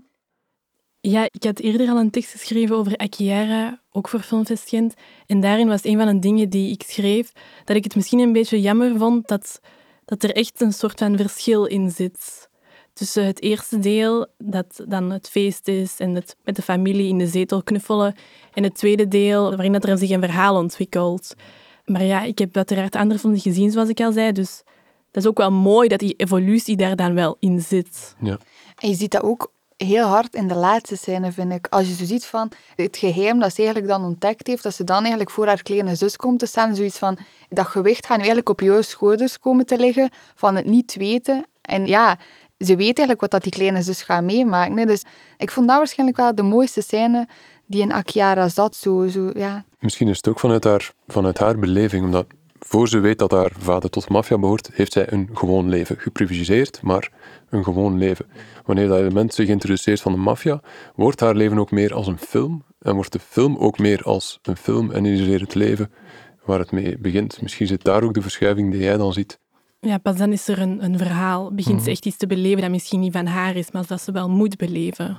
Ja, ik had eerder al een tekst geschreven over Akiara, ook voor Filmfest Gent. En daarin was een van de dingen die ik schreef, dat ik het misschien een beetje jammer vond dat, dat er echt een soort van verschil in zit. Tussen het eerste deel, dat dan het feest is en het met de familie in de zetel knuffelen, en het tweede deel, waarin dat er zich een verhaal ontwikkelt. Maar ja, ik heb uiteraard andere films gezien, zoals ik al zei, dus dat is ook wel mooi dat die evolutie daar dan wel in zit. Ja. En je ziet dat ook heel hard in de laatste scène, vind ik. Als je zo ziet van het geheim dat ze eigenlijk dan ontdekt heeft, dat ze dan eigenlijk voor haar kleine zus komt te staan, zoiets van, dat gewicht gaat nu eigenlijk op jouw schouders komen te liggen, van het niet weten. En ja, ze weet eigenlijk wat dat die kleine zus gaat meemaken. Hè. Dus ik vond dat waarschijnlijk wel de mooiste scène die in Akiara zat. Zo, zo, ja. Misschien is het ook vanuit haar, vanuit haar beleving, omdat voor ze weet dat haar vader tot de maffia behoort, heeft zij een gewoon leven. Geprivilegeerd, maar een gewoon leven. Wanneer dat element zich introduceert van de maffia, wordt haar leven ook meer als een film. En wordt de film ook meer als een film en is er het leven waar het mee begint. Misschien zit daar ook de verschuiving die jij dan ziet. Ja, pas dan is er een, een verhaal. Begint ze echt iets te beleven dat misschien niet van haar is, maar dat ze wel moet beleven.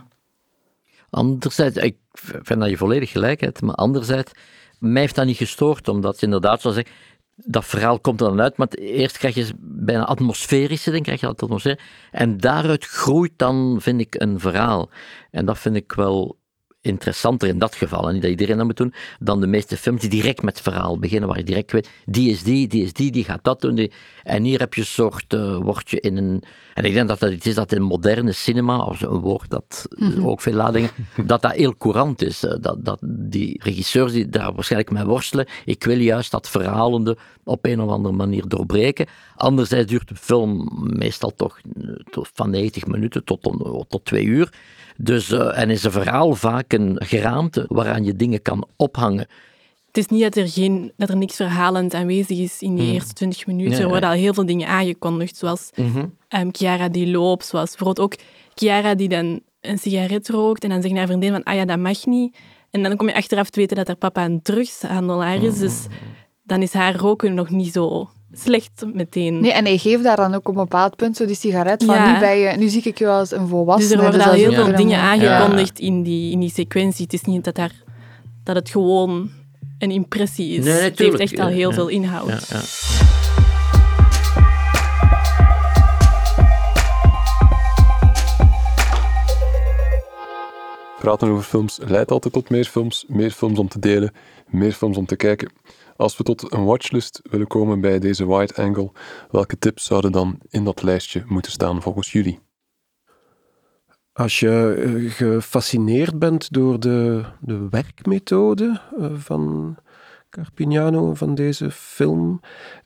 Anderzijds, ik vind dat je volledig gelijk hebt, maar anderzijds, mij heeft dat niet gestoord, omdat je inderdaad zou zeggen, dat verhaal komt er dan uit, maar eerst krijg je bijna atmosferische dingen, krijg je dat atmosfeer, en daaruit groeit dan, vind ik, een verhaal. En dat vind ik wel interessanter in dat geval, en niet dat iedereen dat moet doen, dan de meeste films die direct met het verhaal beginnen, waar je direct weet, die is die, die is die, die gaat dat doen. Die... En hier heb je een soort, uh, word je in een... En ik denk dat dat iets is dat in moderne cinema, of een woord dat mm-hmm. ook veel ladingen, dat dat heel courant is. Dat, dat die regisseurs die daar waarschijnlijk mee worstelen, ik wil juist dat verhalende op een of andere manier doorbreken. Anderzijds duurt de film meestal toch van negentig minuten tot, tot twee uur. Dus, uh, en is een verhaal vaak een geraamte waaraan je dingen kan ophangen. Het is niet dat er, geen, dat er niks verhalend aanwezig is in die mm. eerste twintig minuten. Nee, er worden nee. al heel veel dingen aangekondigd, zoals Mm-hmm. um, Chiara die loopt, zoals bijvoorbeeld ook Chiara die dan een sigaret rookt en dan zegt haar vriendin van, ah ja, dat mag niet. En dan kom je achteraf te weten dat haar papa een drugshandelaar is. Mm-hmm. Dus dan is haar roken nog niet zo slecht meteen. Nee, en hij geeft daar dan ook op een bepaald punt zo die sigaret van Ja. nu, ben je, nu zie ik je wel als een volwassene. Dus er worden dus al dat is heel ook veel weer een- dingen aangekondigd Ja. in, die, in die sequentie. Het is niet dat, daar, dat het gewoon een impressie is. Nee, het natuurlijk. heeft echt al heel Ja. veel inhoud. Ja, ja. Praten over films leidt altijd tot meer films, meer films om te delen, meer films om te kijken. Als we tot een watchlist willen komen bij deze wide angle, welke tips zouden dan in dat lijstje moeten staan volgens jullie? Als je eh, gefascineerd bent door de, de werkmethode eh, van Carpignano, van deze film,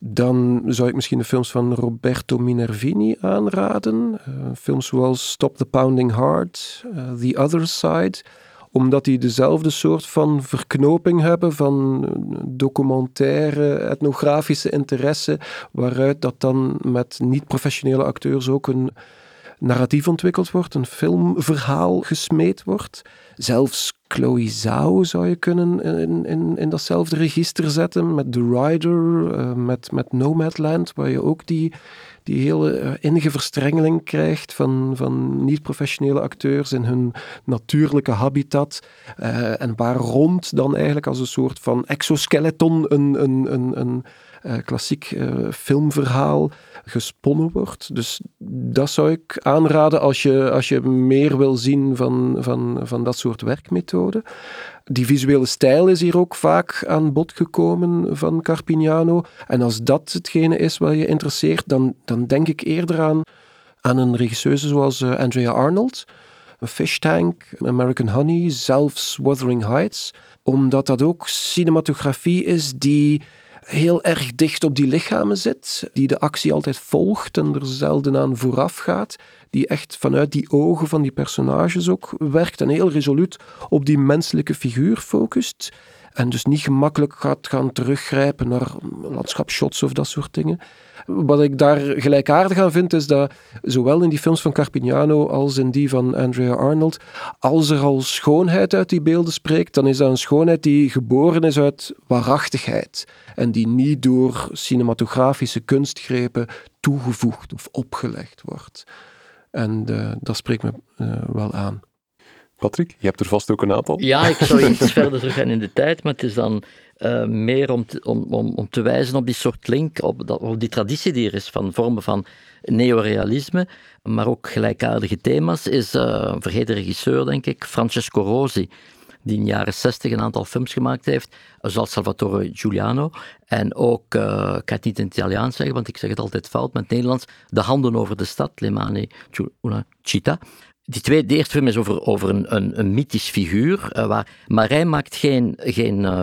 dan zou ik misschien de films van Roberto Minervini aanraden. Uh, films zoals Stop the Pounding Heart, uh, The Other Side, omdat die dezelfde soort van verknoping hebben van documentaire, etnografische interesse, waaruit dat dan met niet-professionele acteurs ook een narratief ontwikkeld wordt, een filmverhaal gesmeed wordt. Zelfs Chloe Zhao zou je kunnen in, in, in datzelfde register zetten, met The Rider, uh, met, met Nomadland, waar je ook die, die hele uh, innige verstrengeling krijgt van, van niet-professionele acteurs in hun natuurlijke habitat, uh, en waar rond dan eigenlijk als een soort van exoskeleton een, een, een, een uh, klassiek uh, filmverhaal gesponnen wordt. Dus dat zou ik aanraden als je, als je meer wil zien van, van, van dat soort werkmethoden. Die visuele stijl is hier ook vaak aan bod gekomen van Carpignano. En als dat hetgene is wat je interesseert, dan, dan denk ik eerder aan, aan een regisseuse zoals uh, Andrea Arnold. Fish Tank, American Honey, zelfs Wuthering Heights. Omdat dat ook cinematografie is die heel erg dicht op die lichamen zit, die de actie altijd volgt en er zelden aan vooraf gaat, die echt vanuit die ogen van die personages ook werkt en heel resoluut op die menselijke figuur focust en dus niet gemakkelijk gaat gaan teruggrijpen naar landschapsshots of dat soort dingen. Wat ik daar gelijkaardig aan vind, is dat zowel in die films van Carpignano als in die van Andrea Arnold, als er al schoonheid uit die beelden spreekt, dan is dat een schoonheid die geboren is uit waarachtigheid en die niet door cinematografische kunstgrepen toegevoegd of opgelegd wordt. En uh, dat spreekt me uh, wel aan. Patrick, je hebt er vast ook een aantal. Ja, ik zou iets verder teruggaan in de tijd, maar het is dan uh, meer om te, om, om, om te wijzen op die soort link, op, dat, op die traditie die er is van vormen van neorealisme, maar ook gelijkaardige thema's, is uh, een vergeten regisseur, denk ik, Francesco Rosi, die in de jaren zestig een aantal films gemaakt heeft, zoals Salvatore Giuliano. En ook, uh, ik ga het niet in het Italiaans zeggen, want ik zeg het altijd fout, met het Nederlands, De handen over de stad, Le mani una città. Die twee, de eerste film is over, over een, een, een mythisch figuur, uh, waar, maar hij maakt geen, geen uh,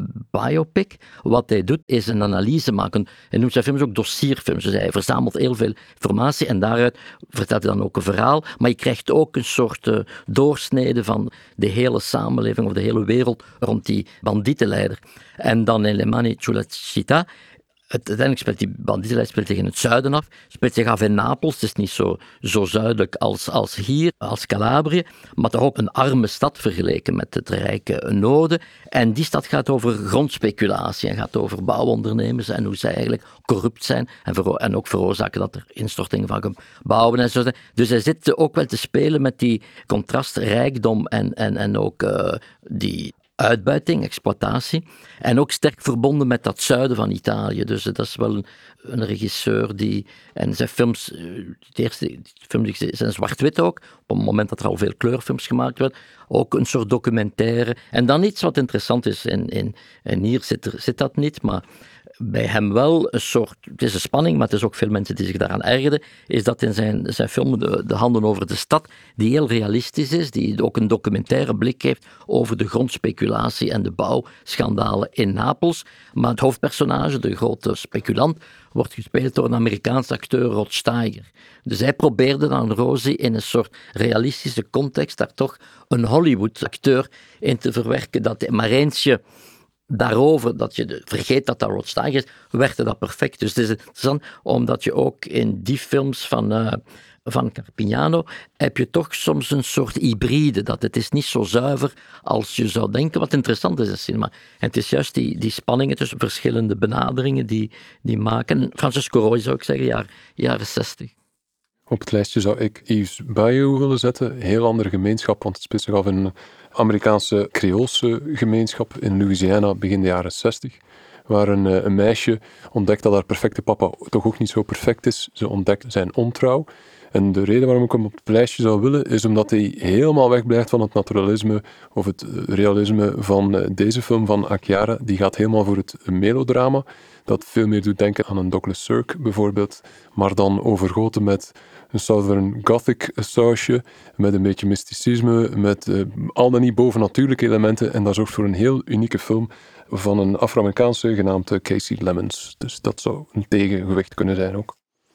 biopic. Wat hij doet, is een analyse maken. Hij noemt zijn films ook dossierfilms. Dus hij verzamelt heel veel informatie en daaruit vertelt hij dan ook een verhaal. Maar je krijgt ook een soort uh, doorsnede van de hele samenleving of de hele wereld rond die bandietenleider. En dan in Le mani sulla città. Uiteindelijk speelt die bandietenleider speelt zich in het zuiden af, speelt zich af in Napels. Het is niet zo, zo zuidelijk als, als hier, als Calabrië, maar toch ook een arme stad vergeleken met het rijke noorden. En die stad gaat over grondspeculatie en gaat over bouwondernemers en hoe zij eigenlijk corrupt zijn en, vero- en ook veroorzaken dat er instortingen van gebouwen en zo zijn. Dus hij zit ook wel te spelen met die contrast rijkdom en, en, en ook uh, die uitbuiting, exploitatie. En ook sterk verbonden met dat zuiden van Italië. Dus dat is wel een, een regisseur die... En zijn films, de eerste films zijn zwart-wit ook. Op het moment dat er al veel kleurfilms gemaakt werden. Ook een soort documentaire. En dan iets wat interessant is. En, en, en hier zit, er, zit dat niet, maar bij hem wel een soort... Het is een spanning, maar het is ook veel mensen die zich daaraan ergerden. Is dat in zijn, zijn film de, de Handen over de stad, die heel realistisch is, die ook een documentaire blik heeft over de grondspeculatie en de bouwschandalen in Napels. Maar het hoofdpersonage, de grote speculant, wordt gespeeld door een Amerikaanse acteur, Rod Steiger. Dus hij probeerde dan Rosi in een soort realistische context daar toch een Hollywood-acteur in te verwerken. Dat maar eentje daarover, dat je vergeet dat dat Rod Steiger is, werkte dat perfect. Dus het is interessant, omdat je ook in die films van uh, van Carpignano heb je toch soms een soort hybride, dat het is niet zo zuiver als je zou denken, wat interessant is in cinema. En het is juist die, die spanningen tussen verschillende benaderingen die, die maken. Francesco Roy zou ik zeggen, jaar, jaren zestig. Op het lijstje zou ik Yves Bayou willen zetten. Heel andere gemeenschap, want het speelt zich af in een Amerikaanse Creoolse gemeenschap in Louisiana begin de jaren zestig. Waar een, een meisje ontdekt dat haar perfecte papa toch ook niet zo perfect is. Ze ontdekt zijn ontrouw. En de reden waarom ik hem op het lijstje zou willen, is omdat hij helemaal wegblijft van het naturalisme of het realisme van deze film van Acchiara. Die gaat helemaal voor het melodrama, dat veel meer doet denken aan een Douglas Sirk bijvoorbeeld, maar dan overgoten met een Southern Gothic sausje, met een beetje mysticisme, met uh, al dan niet bovennatuurlijke elementen. En dat zorgt voor een heel unieke film van een Afro-Amerikaanse genaamd Casey Lemons. Dus dat zou een tegengewicht kunnen zijn ook.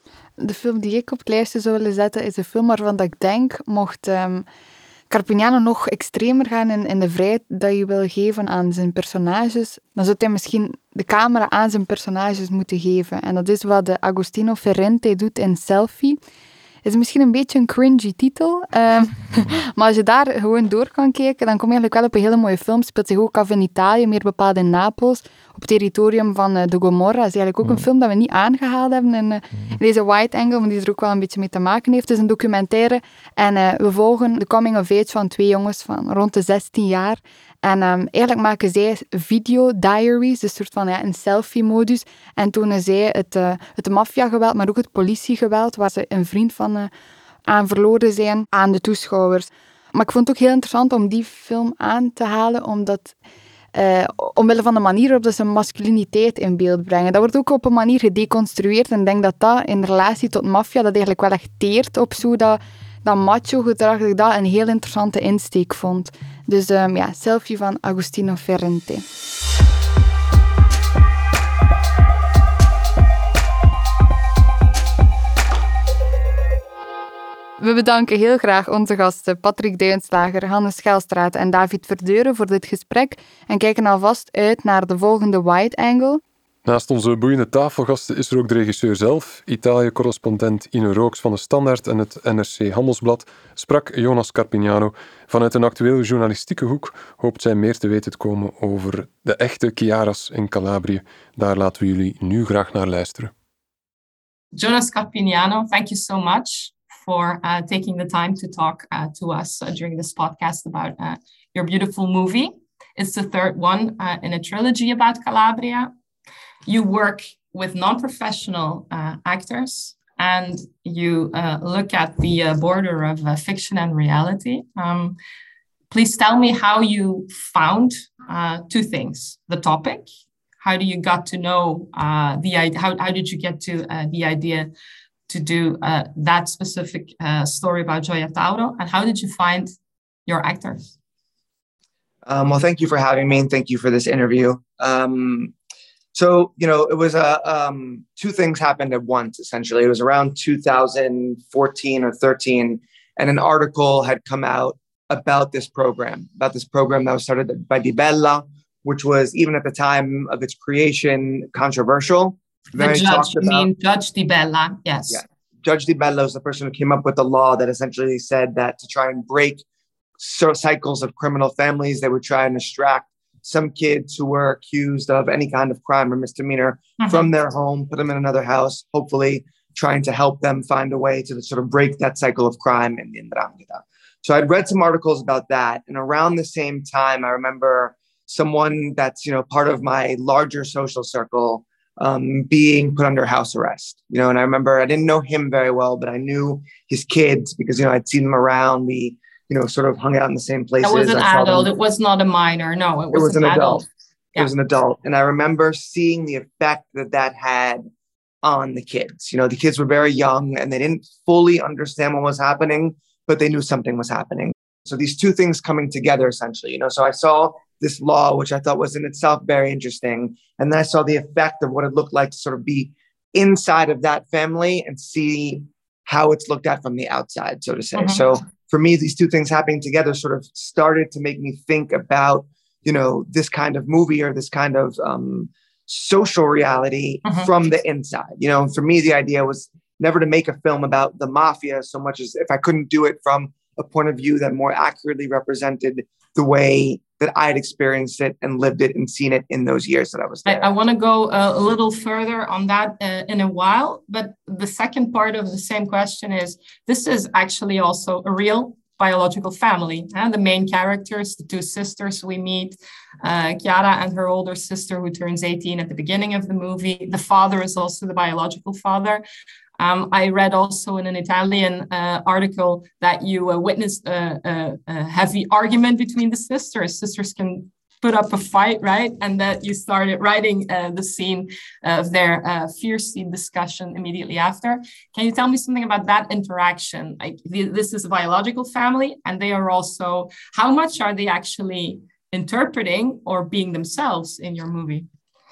De film die ik op het lijstje zou willen zetten is een film waarvan dat ik denk, mocht um, Carpignano nog extremer gaan in, in de vrijheid dat je wil geven aan zijn personages, dan zou hij misschien de camera aan zijn personages moeten geven. En dat is wat de Agostino Ferrante doet in Selfie. Het is misschien een beetje een cringy titel, um, maar als je daar gewoon door kan kijken, dan kom je eigenlijk wel op een hele mooie film. Het speelt zich ook af in Italië, meer bepaald in Napels, op het territorium van uh, de Gomorra. Dat is eigenlijk ook een film dat we niet aangehaald hebben in, uh, in deze Wide Angle, maar die er ook wel een beetje mee te maken heeft. Het is een documentaire en uh, we volgen de coming of age van twee jongens van rond de zestien jaar. En um, eigenlijk maken zij video-diaries, dus een soort van ja, een selfie-modus. En tonen zij het, uh, het maffiageweld, maar ook het politiegeweld, waar ze een vriend van uh, aan verloren zijn, aan de toeschouwers. Maar ik vond het ook heel interessant om die film aan te halen, omdat uh, omwille van de manier waarop ze masculiniteit in beeld brengen. Dat wordt ook op een manier gedeconstrueerd. En ik denk dat dat in relatie tot maffia, dat eigenlijk wel echt teert op zo dat... dat macho-gedrag, dat ik dat een heel interessante insteek vond. Dus um, ja, Selfie van Agostino Ferrante. We bedanken heel graag onze gasten Patrick Duinslager, Hannes Schelstraat en David Verdeuren voor dit gesprek en kijken alvast uit naar de volgende Wide Angle. Naast onze boeiende tafelgasten is er ook de regisseur zelf. Italië-correspondent Ine Rooks van de Standaard en het N R C Handelsblad sprak Jonas Carpignano. Vanuit een actuele journalistieke hoek hoopt zij meer te weten te komen over de echte Chiara's in Calabrië. Daar laten we jullie nu graag naar luisteren. Jonas Carpignano, thank you so much for uh, taking the time to talk uh, to us uh, during this podcast about uh, your beautiful movie. It's the third one uh, in a trilogy about Calabria. You work with non-professional uh, actors and you uh, look at the uh, border of uh, fiction and reality. Um, please tell me how you found uh, two things. The topic, how do you got to know uh, the idea, how, how did you get to uh, the idea to do uh, that specific uh, story about Gioia Tauro, and how did you find your actors? Um, well, thank you for having me and thank you for this interview. Um, So, you know, it was a, um, two things happened at once, essentially. It was around two thousand fourteen or thirteen, and an article had come out about this program, about this program that was started by Di Bella, which was, even at the time of its creation, controversial. The judge, you mean Judge Di Bella, yes. Yeah. Judge Di Bella was the person who came up with the law that essentially said that to try and break cycles of criminal families, they would try and extract some kids who were accused of any kind of crime or misdemeanor mm-hmm. from their home, put them in another house, hopefully trying to help them find a way to sort of break that cycle of crime in the Ndrangheta. So I'd read some articles about that. And around the same time, I remember someone that's, you know, part of my larger social circle um, being put under house arrest. You know, and I remember I didn't know him very well, but I knew his kids because, you know, I'd seen them around. We, you know, sort of hung out in the same places. That was an adult. It was not a minor. No, it was, it was an, an adult. adult. Yeah. It was an adult. And I remember seeing the effect that that had on the kids. You know, the kids were very young and they didn't fully understand what was happening, but they knew something was happening. So these two things coming together, essentially, you know, so I saw this law, which I thought was in itself very interesting. And then I saw the effect of what it looked like to sort of be inside of that family and see how it's looked at from the outside, so to say. Mm-hmm. So for me, these two things happening together sort of started to make me think about, you know, this kind of movie or this kind of um, social reality mm-hmm. from the inside. You know, for me, the idea was never to make a film about the mafia so much as if I couldn't do it from a point of view that more accurately represented the way that I had experienced it and lived it and seen it in those years that I was there. I, I want to go uh, a little further on that uh, in a while, but the second part of the same question is, this is actually also a real biological family. And the main characters, the two sisters we meet, uh, Chiara and her older sister who turns eighteen at the beginning of the movie. The father is also the biological father. Um, I read also in an Italian uh, article that you uh, witnessed a, a, a heavy argument between the sisters. Sisters can put up a fight, right? And that you started writing uh, the scene of their uh, fierce discussion immediately after. Can you tell me something about that interaction? Like, this is a biological family, and they are also, how much are they actually interpreting or being themselves in your movie?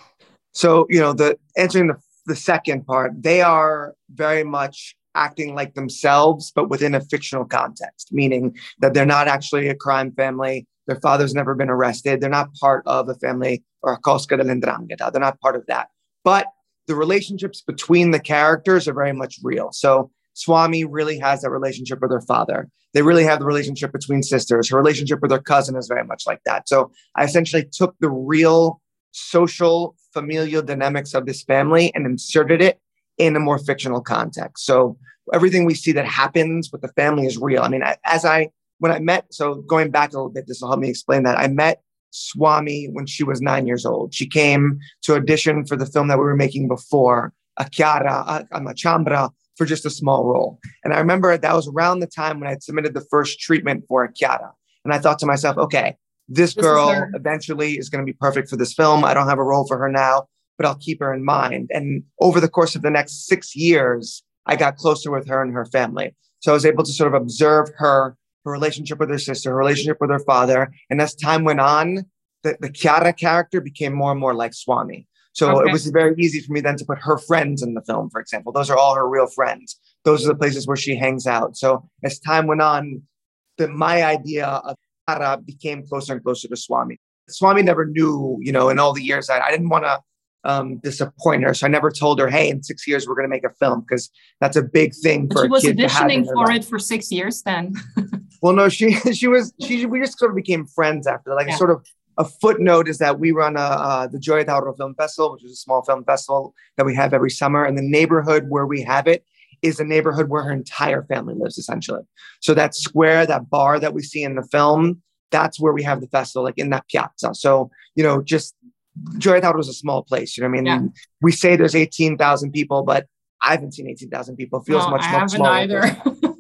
So, you know, the answering the the second part, they are very much acting like themselves, but within a fictional context, meaning that they're not actually a crime family. Their father's never been arrested. They're not part of a family or a cosca de l'Ndrangheta. They're not part of that. But the relationships between the characters are very much real. So Swami really has that relationship with her father. They really have the relationship between sisters. Her relationship with her cousin is very much like that. So I essentially took the real social familial dynamics of this family and inserted it in a more fictional context. So everything we see that happens with the family is real. I mean, as I, when I met, so going back a little bit, this will help me explain that. I met Swami when she was nine years old. She came to audition for the film that we were making before, a Chiara, a, a Machambra, for just a small role. And I remember that was around the time when I had submitted the first treatment for a Chiara. And I thought to myself, okay, This girl this is eventually is going to be perfect for this film. I don't have a role for her now, but I'll keep her in mind. And over the course of the next six years, I got closer with her and her family. So I was able to sort of observe her, her relationship with her sister, her relationship with her father. And as time went on, the, the Chiara character became more and more like Swami. So okay. It was very easy for me then to put her friends in the film, for example. Those are all her real friends. Those are the places where she hangs out. So as time went on, the, my idea of Chiara became closer and closer to Swami. Swami never knew, you know, in all the years, I, I didn't want to um, disappoint her. So I never told her, hey, in six years, we're going to make a film, because that's a big thing but for a kid to have. She was auditioning for life. it for six years then. Well, no, she, she was, she, we just sort of became friends after that. Like yeah. a sort of a footnote is that we run a, uh, the Gioia Tauro Film Festival, which is a small film festival that we have every summer. And the neighborhood where we have it is a neighborhood where her entire family lives, essentially. So that square, that bar that we see in the film, that's where we have the festival, like in that piazza. So, you know, just Gioia Tauro was a small place. You know what I mean? Yeah. We say there's eighteen thousand people, but I haven't seen eighteen thousand people. It feels no, much, I much smaller. Either.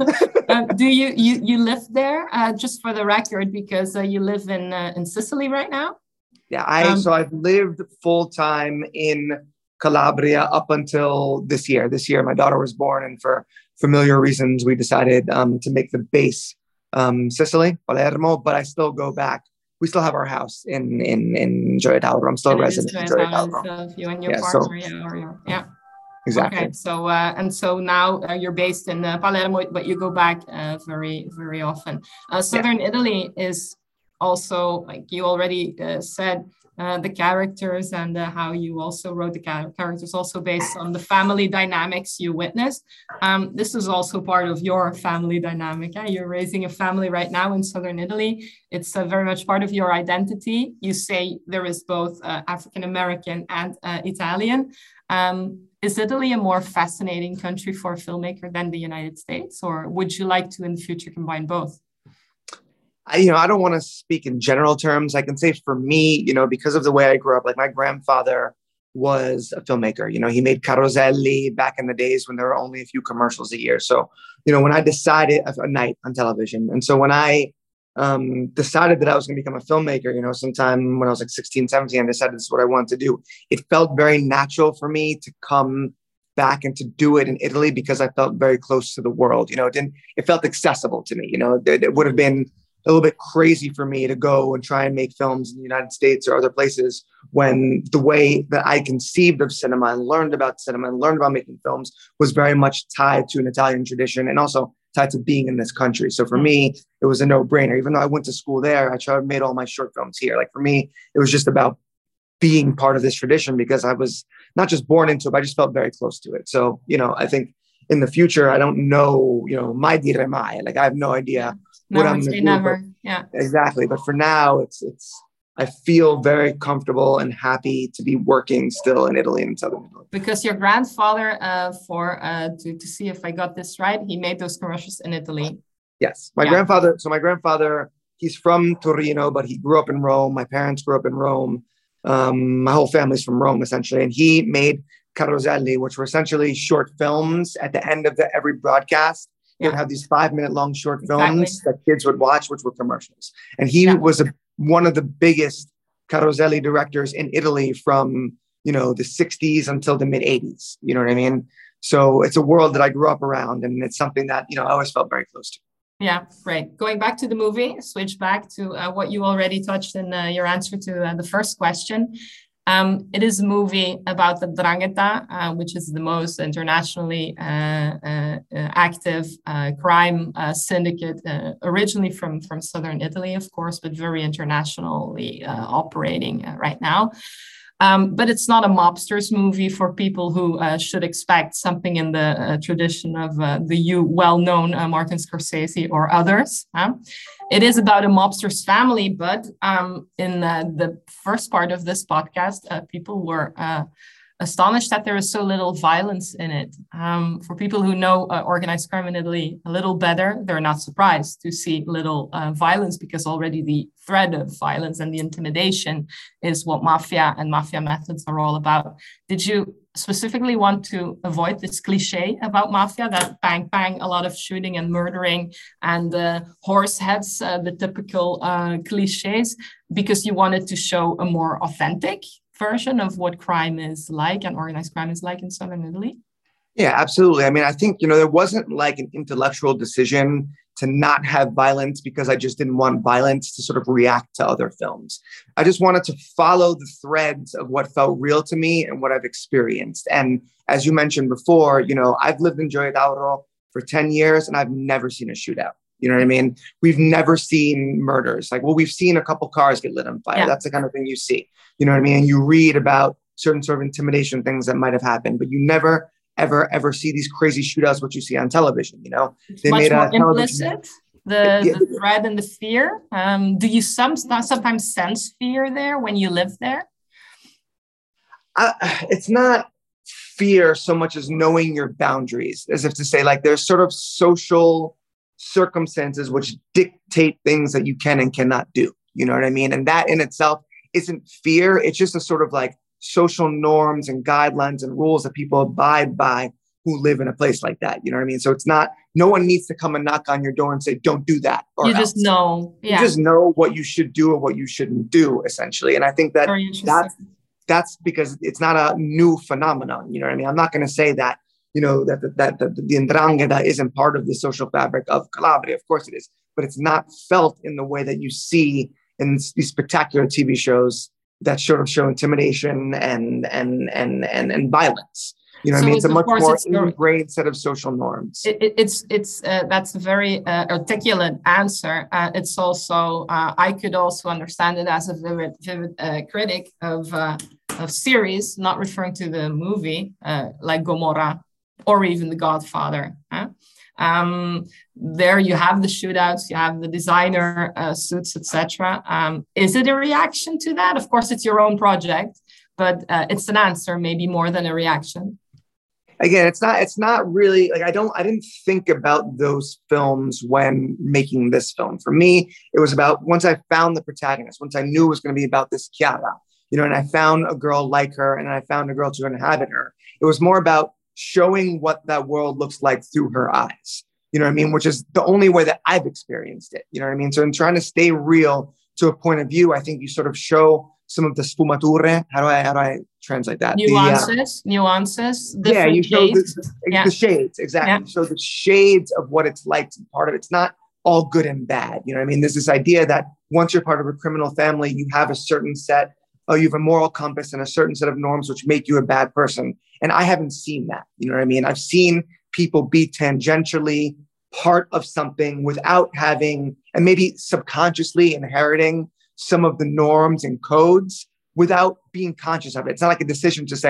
uh, do you, you, you live there, uh, just for the record, because uh, you live in, uh, in Sicily right now? Yeah, I, um, so I've lived full time in Calabria up until this year. This year, my daughter was born, and for familiar reasons, we decided um, to make the base um, Sicily, Palermo, but I still go back. We still have our house in in in Gioia Tauro. I'm still a resident in Gioia Tauro. So you and your yeah, partner, so, yeah, or your, yeah. Exactly. Okay, so uh, and so now uh, you're based in uh, Palermo, but you go back uh, very very often. Uh, Southern yeah. Italy is also, like you already uh, said, uh, the characters and uh, how you also wrote the characters also based on the family dynamics you witnessed. Um, this is also part of your family dynamic. Eh? You're raising a family right now in Southern Italy. It's uh, very much part of your identity. You say there is both uh, African-American and uh, Italian. Um, is Italy a more fascinating country for a filmmaker than the United States, or would you like to in the future combine both? I, you know, I don't want to speak in general terms. I can say for me, you know, because of the way I grew up, like my grandfather was a filmmaker. You know, he made Caroselli back in the days when there were only a few commercials a year. So, you know, when I decided a night on television. And so when I um, decided that I was going to become a filmmaker, you know, sometime when I was like sixteen, seventeen, I decided this is what I wanted to do. It felt very natural for me to come back and to do it in Italy because I felt very close to the world. You know, it didn't, it felt accessible to me. You know, it, it would have been a little bit crazy for me to go and try and make films in the United States or other places when the way that I conceived of cinema and learned about cinema and learned about making films was very much tied to an Italian tradition and also tied to being in this country. So for me, it was a no-brainer. Even though I went to school there, I tried made all my short films here. Like for me, it was just about being part of this tradition because I was not just born into it, but I just felt very close to it. So, you know, I think in the future, I don't know, you know, mai dire mai. Like I have no idea what Never I'm going to say do. never. but- Yeah. Exactly. But for now, it's, it's, I feel very comfortable and happy to be working still in Italy and Southern Italy. Because your grandfather, uh, for uh, to, to see if I got this right, he made those commercials in Italy. Yes. My Yeah. grandfather, so my grandfather, he's from Torino, but he grew up in Rome. My parents grew up in Rome. Um, my whole family's from Rome, essentially. And he made Caroselli, which were essentially short films at the end of the, every broadcast. He would Yeah. have these five minute long short Exactly. films that kids would watch, which were commercials. And he Yeah. was a, one of the biggest Caroselli directors in Italy from, you know, the sixties until the mid eighties. You know what I mean? So it's a world that I grew up around, and it's something that, you know, I always felt very close to. Yeah, great. Going back to the movie, switch back to uh, what you already touched in uh, your answer to uh, the first question. Um, it is a movie about the Ndrangheta, uh, which is the most internationally uh, uh, uh, active uh, crime uh, syndicate, uh, originally from, from southern Italy, of course, but very internationally uh, operating uh, right now. Um, but it's not a mobsters movie for people who uh, should expect something in the uh, tradition of uh, the you well-known uh, Martin Scorsese or others. Huh? It is about a mobster's family, but um, in uh, the first part of this podcast, uh, people were uh, astonished that there is so little violence in it. Um, for people who know uh, organized crime in Italy a little better, they're not surprised to see little uh, violence, because already the threat of violence and the intimidation is what mafia and mafia methods are all about. Did you specifically want to avoid this cliche about mafia, that bang, bang, a lot of shooting and murdering and uh, horse heads, uh, the typical uh, cliches, because you wanted to show a more authentic version of what crime is like and organized crime is like in southern Italy? Yeah, absolutely. I mean, I think, you know, there wasn't like an intellectual decision to not have violence because I just didn't want violence to sort of react to other films. I just wanted to follow the threads of what felt real to me and what I've experienced. And as you mentioned before, you know, I've lived in Gioia Tauro for ten years and I've never seen a shootout. You know what I mean? We've never seen murders. Like, well, we've seen a couple cars get lit on fire. Yeah. That's the kind of thing you see. You know what I mean? And you read about certain sort of intimidation things that might have happened, but you never, ever, ever see these crazy shootouts, what you see on television, you know? It's They much made a more television- implicit, the, Yeah. the threat and the fear. Um, do you some, sometimes sense fear there when you live there? I, it's not fear so much as knowing your boundaries, as if to say, like, there's sort of social circumstances which dictate things that you can and cannot do. You know what I mean? And that in itself isn't fear. It's just a sort of like social norms and guidelines and rules that people abide by who live in a place like that. You know what I mean? So it's not, no one needs to come and knock on your door and say, don't do that. Or You just else. know. Yeah. You just know what you should do or what you shouldn't do, essentially. And I think that Very interesting. that's, that's because it's not a new phenomenon. You know what I mean? I'm not going to say that, you know, that, that, that, that the Ndrangheta isn't part of the social fabric of Calabria. Of course it is, but it's not felt in the way that you see in these spectacular T V shows that sort of show intimidation and, and, and, and, and violence. You know what So I mean? it's, It's a of much course, more it's your- ingrained set of social norms. It, it, it's it's uh, that's a very uh, articulate answer. Uh, it's also uh, I could also understand it as a vivid vivid uh, critic of uh, of series, not referring to the movie uh, like Gomorrah or even The Godfather. Huh? Um, there you have the shootouts, you have the designer uh, suits, et cetera. Um, is it a reaction to that? Of course, it's your own project, but uh, it's an answer, maybe more than a reaction. Again, it's not, it's not really like, I don't, I didn't think about those films when making this film. For me, it was about, once I found the protagonist, once I knew it was going to be about this Chiara, you know, and I found a girl like her and I found a girl to inhabit her. It was more about showing what that world looks like through her eyes, you know what I mean? Which is the only way that I've experienced it. You know what I mean? So in trying to stay real to a point of view, I think you sort of show some of the sfumature. How do I, how do I translate that? Nuances, the, uh, nuances, yeah, you show shades. the, the, Yeah. the shades, exactly. Yeah. So the shades of what it's like to be part of it. It's not all good and bad. You know what I mean? There's this idea that once you're part of a criminal family, you have a certain set, oh, you have a moral compass and a certain set of norms which make you a bad person. And I haven't seen that. You know what I mean? I've seen people be tangentially part of something without having, and maybe subconsciously inheriting some of the norms and codes without being conscious of it. It's not like a decision to say,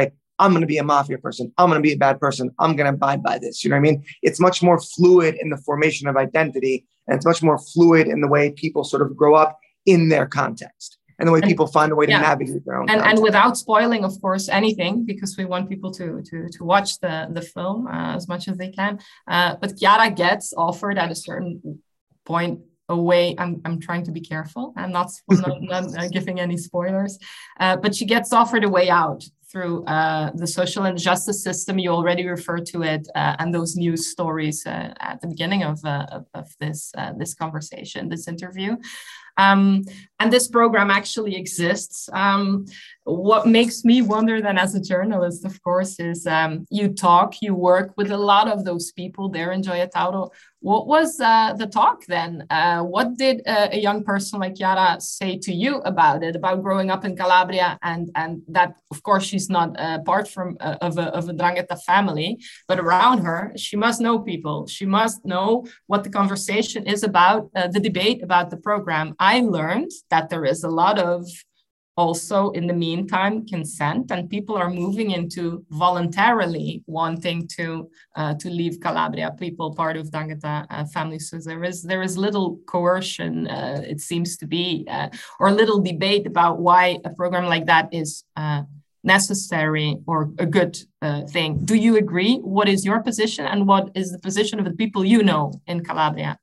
I'm going to be a mafia person. I'm going to be a bad person. I'm going to abide by this. You know what I mean? It's much more fluid in the formation of identity. And it's much more fluid in the way people sort of grow up in their context and the way and, people find a way to yeah. navigate their own and, context. And without spoiling, of course, anything, because we want people to to, to watch the, the film uh, as much as they can. Uh, but Chiara gets offered at a certain point away. I'm I'm trying to be careful. I'm not, not, not uh, giving any spoilers. Uh, but she gets offered a way out through uh, the social and justice system. You already referred to it, uh, and those news stories uh, at the beginning of uh, of, of this uh, this conversation, this interview. Um, and this program actually exists. Um, what makes me wonder then as a journalist, of course, is um, you talk, you work with a lot of those people there in Gioia Tauro. What was uh, the talk then? Uh, what did uh, a young person like Chiara say to you about it, about growing up in Calabria, and, and that, of course, she's not uh, part from uh, of, a, of a 'Ndrangheta family, but around her, she must know people. She must know what the conversation is about, uh, the debate about the program. I learned that there is a lot of also, in the meantime, consent, and people are moving into voluntarily wanting to uh, to leave Calabria, people part of 'Ndrangheta uh, families. So there is there is little coercion, uh, it seems to be, uh, or little debate about why a program like that is uh, necessary or a good uh, thing. Do you agree? What is your position, and what is the position of the people you know in Calabria?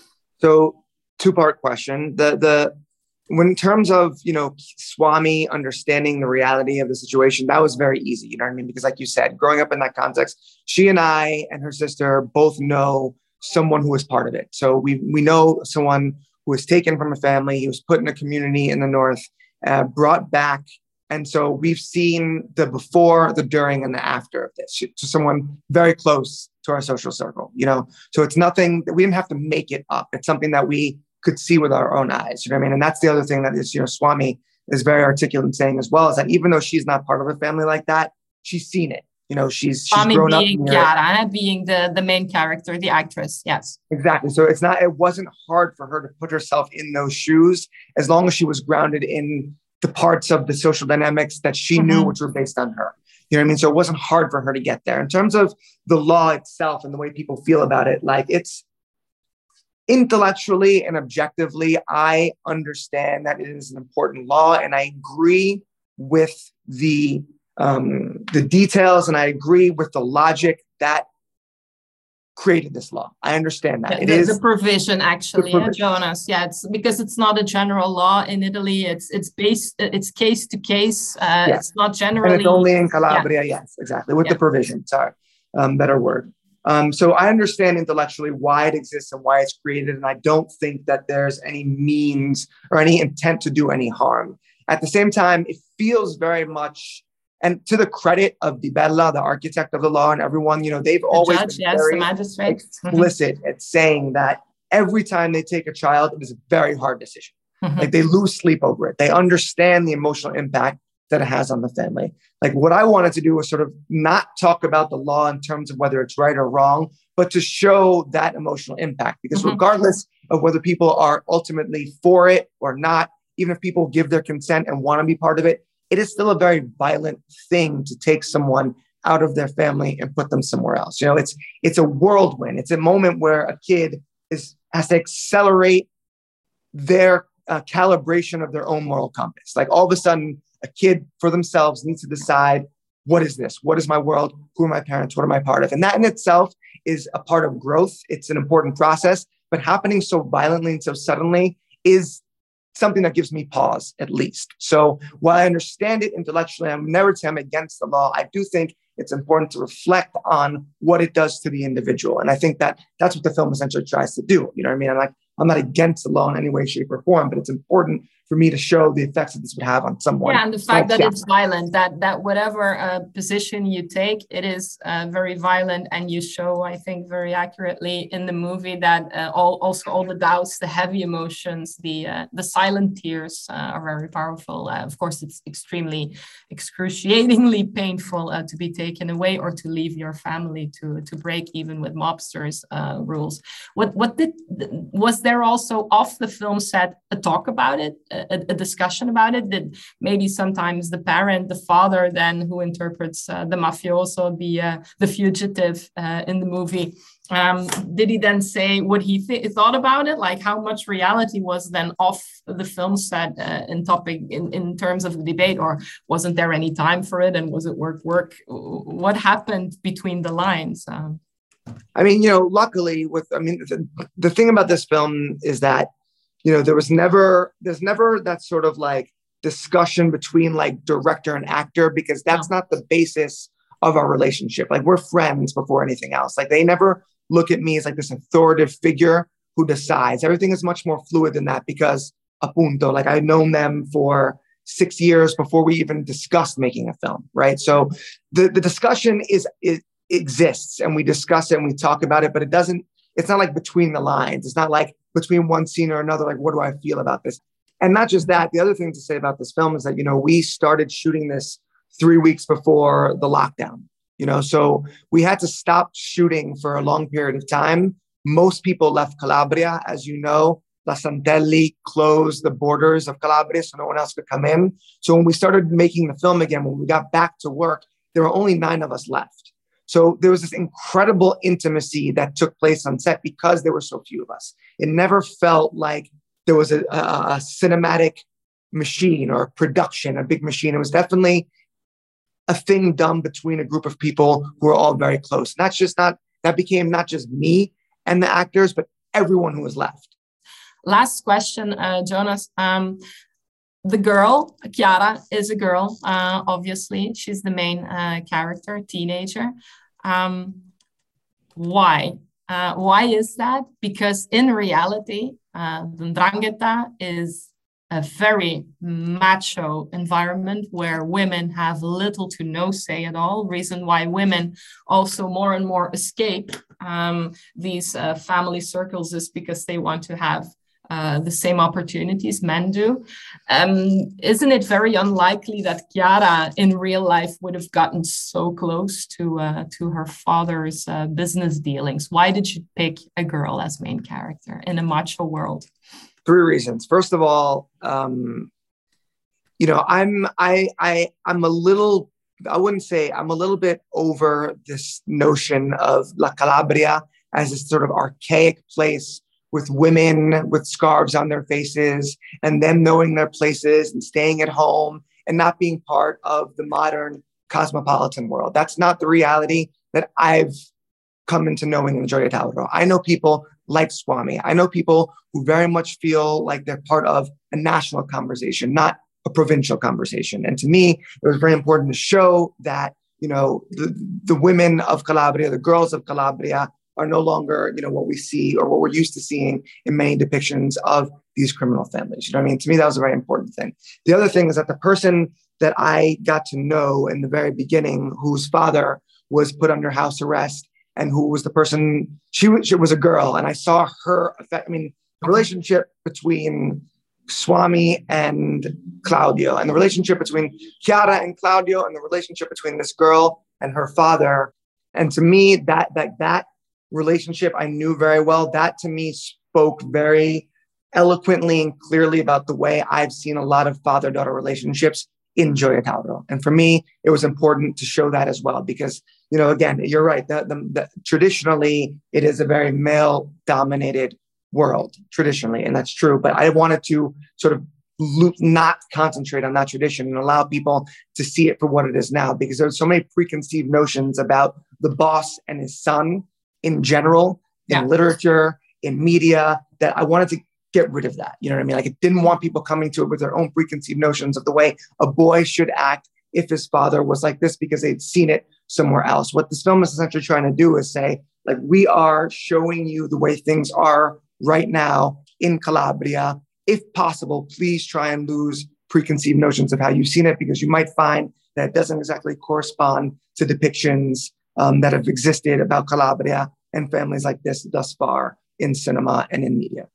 So, two-part question. The the When in terms of, you know, Swami understanding the reality of the situation, that was very easy, you know what I mean? Because like you said, growing up in that context, she and I and her sister both know someone who was part of it. So we we know someone who was taken from a family, he was put in a community in the north, uh, brought back. And so we've seen the before, the during, and the after of this. So someone very close to our social circle, you know? So it's nothing that we didn't have to make it up. It's something that we could see with our own eyes, you know what I mean? And that's the other thing that is, you know, Swami is very articulate in saying as well, is that even though she's not part of a family like that, she's seen it. You know, she's, she's Swami grown being up. Chiara, being the, the main character, the actress, yes. Exactly. So it's not, it wasn't hard for her to put herself in those shoes as long as she was grounded in the parts of the social dynamics that she mm-hmm. knew, which were based on her. You know what I mean? So it wasn't hard for her to get there. In terms of the law itself and the way people feel about it, like it's, intellectually and objectively, I understand that it is an important law, and I agree with the um, the details, and I agree with the logic that created this law. I understand that. The, it the, is the provision, actually, the provision. Yeah, Jonas. Yeah, it's because it's not a general law in Italy. It's it's based. It's case to case. Uh, yes. It's not generally. And it's only in Calabria. Yeah. Yes, exactly. With yeah. the provision. Sorry, um, better word. Um, so I understand intellectually why it exists and why it's created, and I don't think that there's any means or any intent to do any harm. At the same time, it feels very much, and to the credit of Di Bella, the architect of the law, and everyone, you know, they've the always judge, been yes, very the magistrate. explicit mm-hmm. at saying that every time they take a child, it is a very hard decision. Mm-hmm. Like they lose sleep over it. They understand the emotional impact that it has on the family. Like what I wanted to do was sort of not talk about the law in terms of whether it's right or wrong, but to show that emotional impact. Because mm-hmm. regardless of whether people are ultimately for it or not, even if people give their consent and want to be part of it, it is still a very violent thing to take someone out of their family and put them somewhere else. You know, it's it's a whirlwind. It's a moment where a kid is has to accelerate their uh, calibration of their own moral compass. Like all of a sudden, a kid for themselves needs to decide, what is this? What is my world? Who are my parents? What am I part of? And that in itself is a part of growth. It's an important process, but happening so violently and so suddenly is something that gives me pause, at least. So while I understand it intellectually, I'm never saying I'm against the law. I do think it's important to reflect on what it does to the individual. And I think that that's what the film essentially tries to do. You know what I mean? I'm like, I'm not against the law in any way, shape, or form, but it's important for me to show the effects that this would have on someone. Yeah, and the fact that yeah. it's violent, that that whatever uh, position you take, it is uh, very violent, and you show, I think, very accurately in the movie that uh, all also all the doubts, the heavy emotions, the uh, the silent tears uh, are very powerful. Uh, of course, it's extremely excruciatingly painful uh, to be taken away or to leave your family, to to break even with mobsters uh, rules. What what did was there also off the film set a talk about it? Uh, a, a discussion about it? Did maybe sometimes the parent, the father, then who interprets uh, the mafioso, the uh, the fugitive uh, in the movie, um, did he then say what he th- thought about it? Like how much reality was then off the film set uh, in topic in, in terms of the debate, or wasn't there any time for it? And was it work work? What happened between the lines? Um, I mean, you know, luckily with, I mean, the, the thing about this film is that, you know, there was never, there's never that sort of like discussion between like director and actor, because that's no. not the basis of our relationship. Like we're friends before anything else. Like they never look at me as like this authoritative figure who decides. Everything is much more fluid than that because, apunto, like I've known them for six years before we even discussed making a film, right? So the, the discussion is, is exists and we discuss it and we talk about it, but it doesn't, it's not like between the lines. It's not like between one scene or another, like, what do I feel about this? And not just that, the other thing to say about this film is that, you know, we started shooting this three weeks before the lockdown, you know, so we had to stop shooting for a long period of time. Most people left Calabria, as you know. La Santelli closed the borders of Calabria so no one else could come in. So when we started making the film again, when we got back to work, there were only nine of us left. So there was this incredible intimacy that took place on set because there were so few of us. It never felt like there was a, a, a cinematic machine or a production, a big machine. It was definitely a thing done between a group of people who were all very close. That's just not, that became not just me and the actors, but everyone who was left. Last question, uh, Jonas. Um, The girl, Chiara, is a girl, uh, obviously. She's the main uh, character, teenager. Um, why? Uh, why is that? Because in reality, uh, the Ndrangheta is a very macho environment where women have little to no say at all. Reason why women also more and more escape um, these uh, family circles is because they want to have Uh, the same opportunities men do. Um, isn't it very unlikely that Chiara in real life would have gotten so close to uh, to her father's uh, business dealings? Why did you pick a girl as main character in a macho world? Three reasons. First of all, um, you know, I'm I I I'm a little, I wouldn't say, I'm a little bit over this notion of La Calabria as this sort of archaic place with women with scarves on their faces and them knowing their places and staying at home and not being part of the modern cosmopolitan world. That's not the reality that I've come into knowing in Gioia Tauro. I know people like Swami. I know people who very much feel like they're part of a national conversation, not a provincial conversation. And to me, it was very important to show that, you know, the, the women of Calabria, the girls of Calabria, are no longer, you know, what we see or what we're used to seeing in many depictions of these criminal families. You know what I mean? To me, that was a very important thing. The other thing is that the person that I got to know in the very beginning, whose father was put under house arrest and who was the person, she was, she was a girl, and I saw her affect, I mean, the relationship between Swami and Claudio, and the relationship between Chiara and Claudio, and the relationship between this girl and her father. And to me, that that that relationship I knew very well. That to me spoke very eloquently and clearly about the way I've seen a lot of father-daughter relationships in Gioia Tauro. And for me, it was important to show that as well, because, you know, again, you're right. The, the, the, traditionally, it is a very male-dominated world, traditionally, and that's true. But I wanted to sort of loop, not concentrate on that tradition and allow people to see it for what it is now, because there's so many preconceived notions about the boss and his son in general, in yeah. literature, in media, that I wanted to get rid of that. You know what I mean? Like, I didn't want people coming to it with their own preconceived notions of the way a boy should act if his father was like this because they'd seen it somewhere else. What this film is essentially trying to do is say, like, we are showing you the way things are right now in Calabria. If possible, please try and lose preconceived notions of how you've seen it, because you might find that it doesn't exactly correspond to depictions um, that have existed about Calabria and families like this thus far in cinema and in media.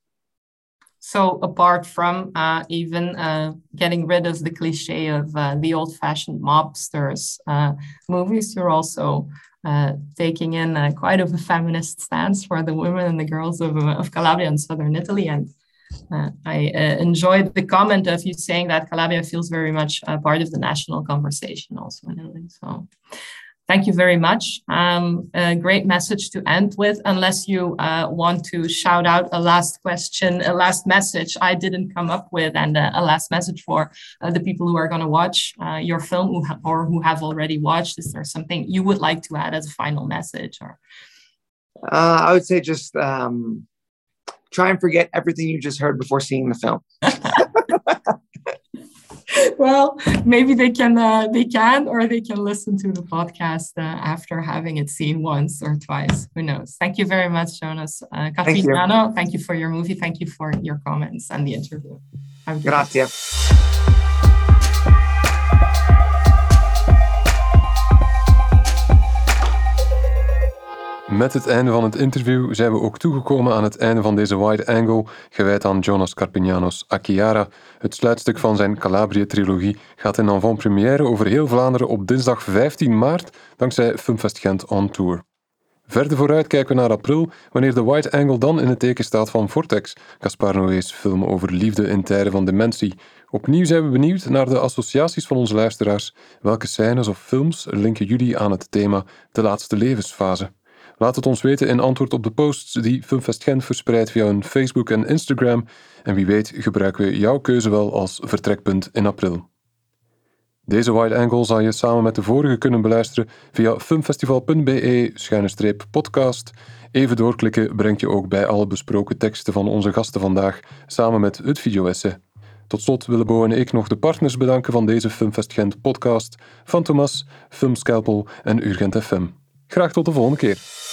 So apart from uh, even uh, getting rid of the cliche of uh, the old-fashioned mobsters uh, movies, you're also uh, taking in uh, quite of a feminist stance for the women and the girls of, of Calabria and southern Italy. And Uh, I uh, enjoyed the comment of you saying that Calabria feels very much uh, part of the national conversation also in Italy. So thank you very much. Um, a great message to end with, unless you uh, want to shout out a last question, a last message I didn't come up with, and uh, a last message for uh, the people who are going to watch uh, your film who ha- or who have already watched. Is there something you would like to add as a final message? Or uh, I would say just um, try and forget everything you just heard before seeing the film. Well, maybe they can, uh, they can, or they can listen to the podcast uh, after having it seen once or twice. Who knows? Thank you very much, Jonas. Uh, Carpignano, thank, thank you for your movie. Thank you for your comments and the interview. Grazie. Met het einde van het interview zijn we ook toegekomen aan het einde van deze wide angle, gewijd aan Jonas Carpignano's A Chiara. Het sluitstuk van zijn Calabrië-trilogie gaat in avant-première over heel Vlaanderen op dinsdag vijftien maart, dankzij Filmfest Gent on Tour. Verder vooruit kijken we naar april, wanneer de wide angle dan in het teken staat van Vortex, Gaspar Noé's film over liefde in tijden van dementie. Opnieuw zijn we benieuwd naar de associaties van onze luisteraars. Welke scènes of films linken jullie aan het thema de laatste levensfase? Laat het ons weten in antwoord op de posts die Filmfest Gent verspreidt via hun Facebook en Instagram. En wie weet gebruiken we jouw keuze wel als vertrekpunt in april. Deze wide angle zal je samen met de vorige kunnen beluisteren via filmfestival.be schuine streep podcast. Even doorklikken brengt je ook bij alle besproken teksten van onze gasten vandaag, samen met het video-essay. Tot slot willen Bo en ik nog de partners bedanken van deze Filmfest Gent podcast, Fantomas, Filmscalpel en Urgent F M. Graag tot de volgende keer.